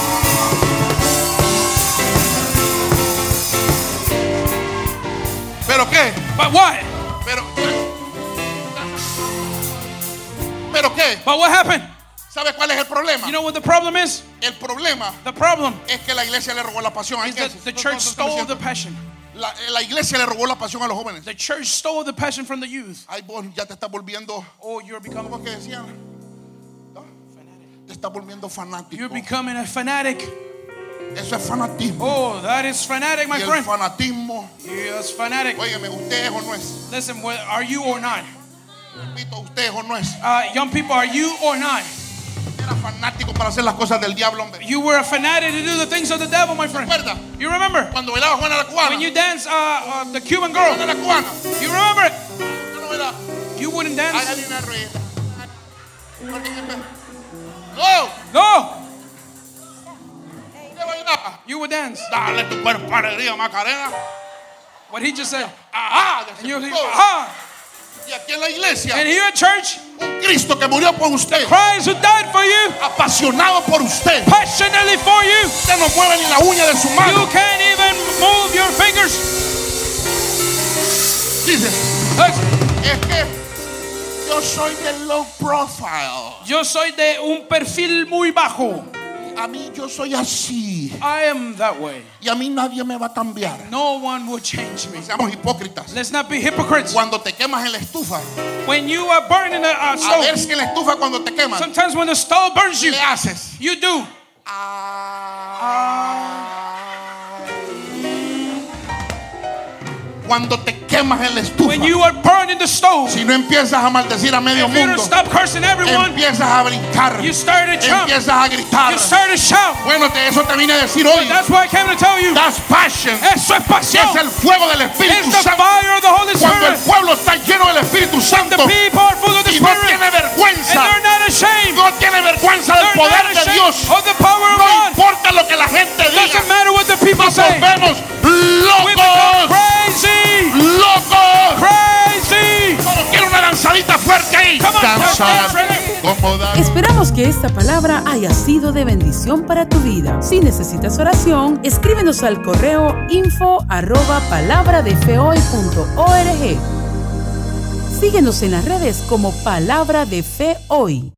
¿Pero qué? But what? ¿Pero, ¿Pero qué? But what happened? ¿Sabe cuál es el problema? You know what the problem is? El problema The problem es que la iglesia le robó la pasión. Hay is que- that the no, no, church no, no, stole no, the passion. La, la iglesia le robó la pasión a los jóvenes. The church stole the passion from the youth. Ay, vos ya te estás volviendo, Oh, you're becoming, ¿cómo es que decían? ¿No? Te estás volviendo fanático. you're becoming a fanatic. Eso es fanatismo. Oh, that is fanatic, my Y el friend. fanatismo, Yes, fanatic. óigame, usted es o no es. Listen, wh- are you or not? Repito, usted es o no es. Uh, young people, are you or not? Era fanático para hacer las cosas del diablo, hombre. You were a fanatic to do the things of the devil, my friend. ¿Recuerda? You remember Cuando bailaba Juana la Cubana. when you dance uh, uh, the Cuban Juana girl? la Cubana. You remember it? Yo no bailaba. You wouldn't Ay, dance. hay una rueda. No, No, ¿qué bailaba? you would dance. Dale tu cuerpo alegría, Macarena. What he just said. Ajá. And you, decía, aha. y aquí en la iglesia, And here at church, un Cristo que murió por usted, Christ who died for you, apasionado por usted. passionately for you. Usted no mueve ni la uña de su You mano. can't even move your fingers. Dice, Listen, es que yo soy de low profile. yo soy de un perfil muy bajo. A mí yo soy así. I am that way. Y a mí nadie me va a cambiar. No one will change me. No seamos hipócritas. Let's not be hypocrites. Cuando te quemas en la estufa, When you are burning a, a a ver stove, si en la estufa cuando te quemas, sometimes when the stove burns you, le haces. you do. Cuando te quemas en la estufa, When you are burning the stove, si no empiezas a maldecir a medio if you don't mundo, stop cursing everyone, empiezas a brincar, you start to jump, empiezas a gritar. you start to shout. Bueno, te- eso te vine a decir hoy. That's why I came to tell you. That's passion. Eso es Que pasión. es el fuego del Espíritu It's the Santo. fire of the Holy Cuando el Spirit. pueblo está lleno del Espíritu The Santo people are full of the y no Spirit, tiene and vergüenza, they're not ashamed. no tiene vergüenza del They're poder not de ashamed Dios. of the power of No God. importa lo que la gente Doesn't diga. matter what the people Nos say. volvemos We become locos, crazy, locos. crazy. Solo quiero una danzadita fuerte ahí. Come on, Danza, dance, ready? como dan- Esperamos que esta palabra haya sido de bendición para tu vida. Si necesitas oración, escríbenos al correo info arroba palabra de fe hoy punto org. Síguenos en las redes como Palabra de Fe Hoy.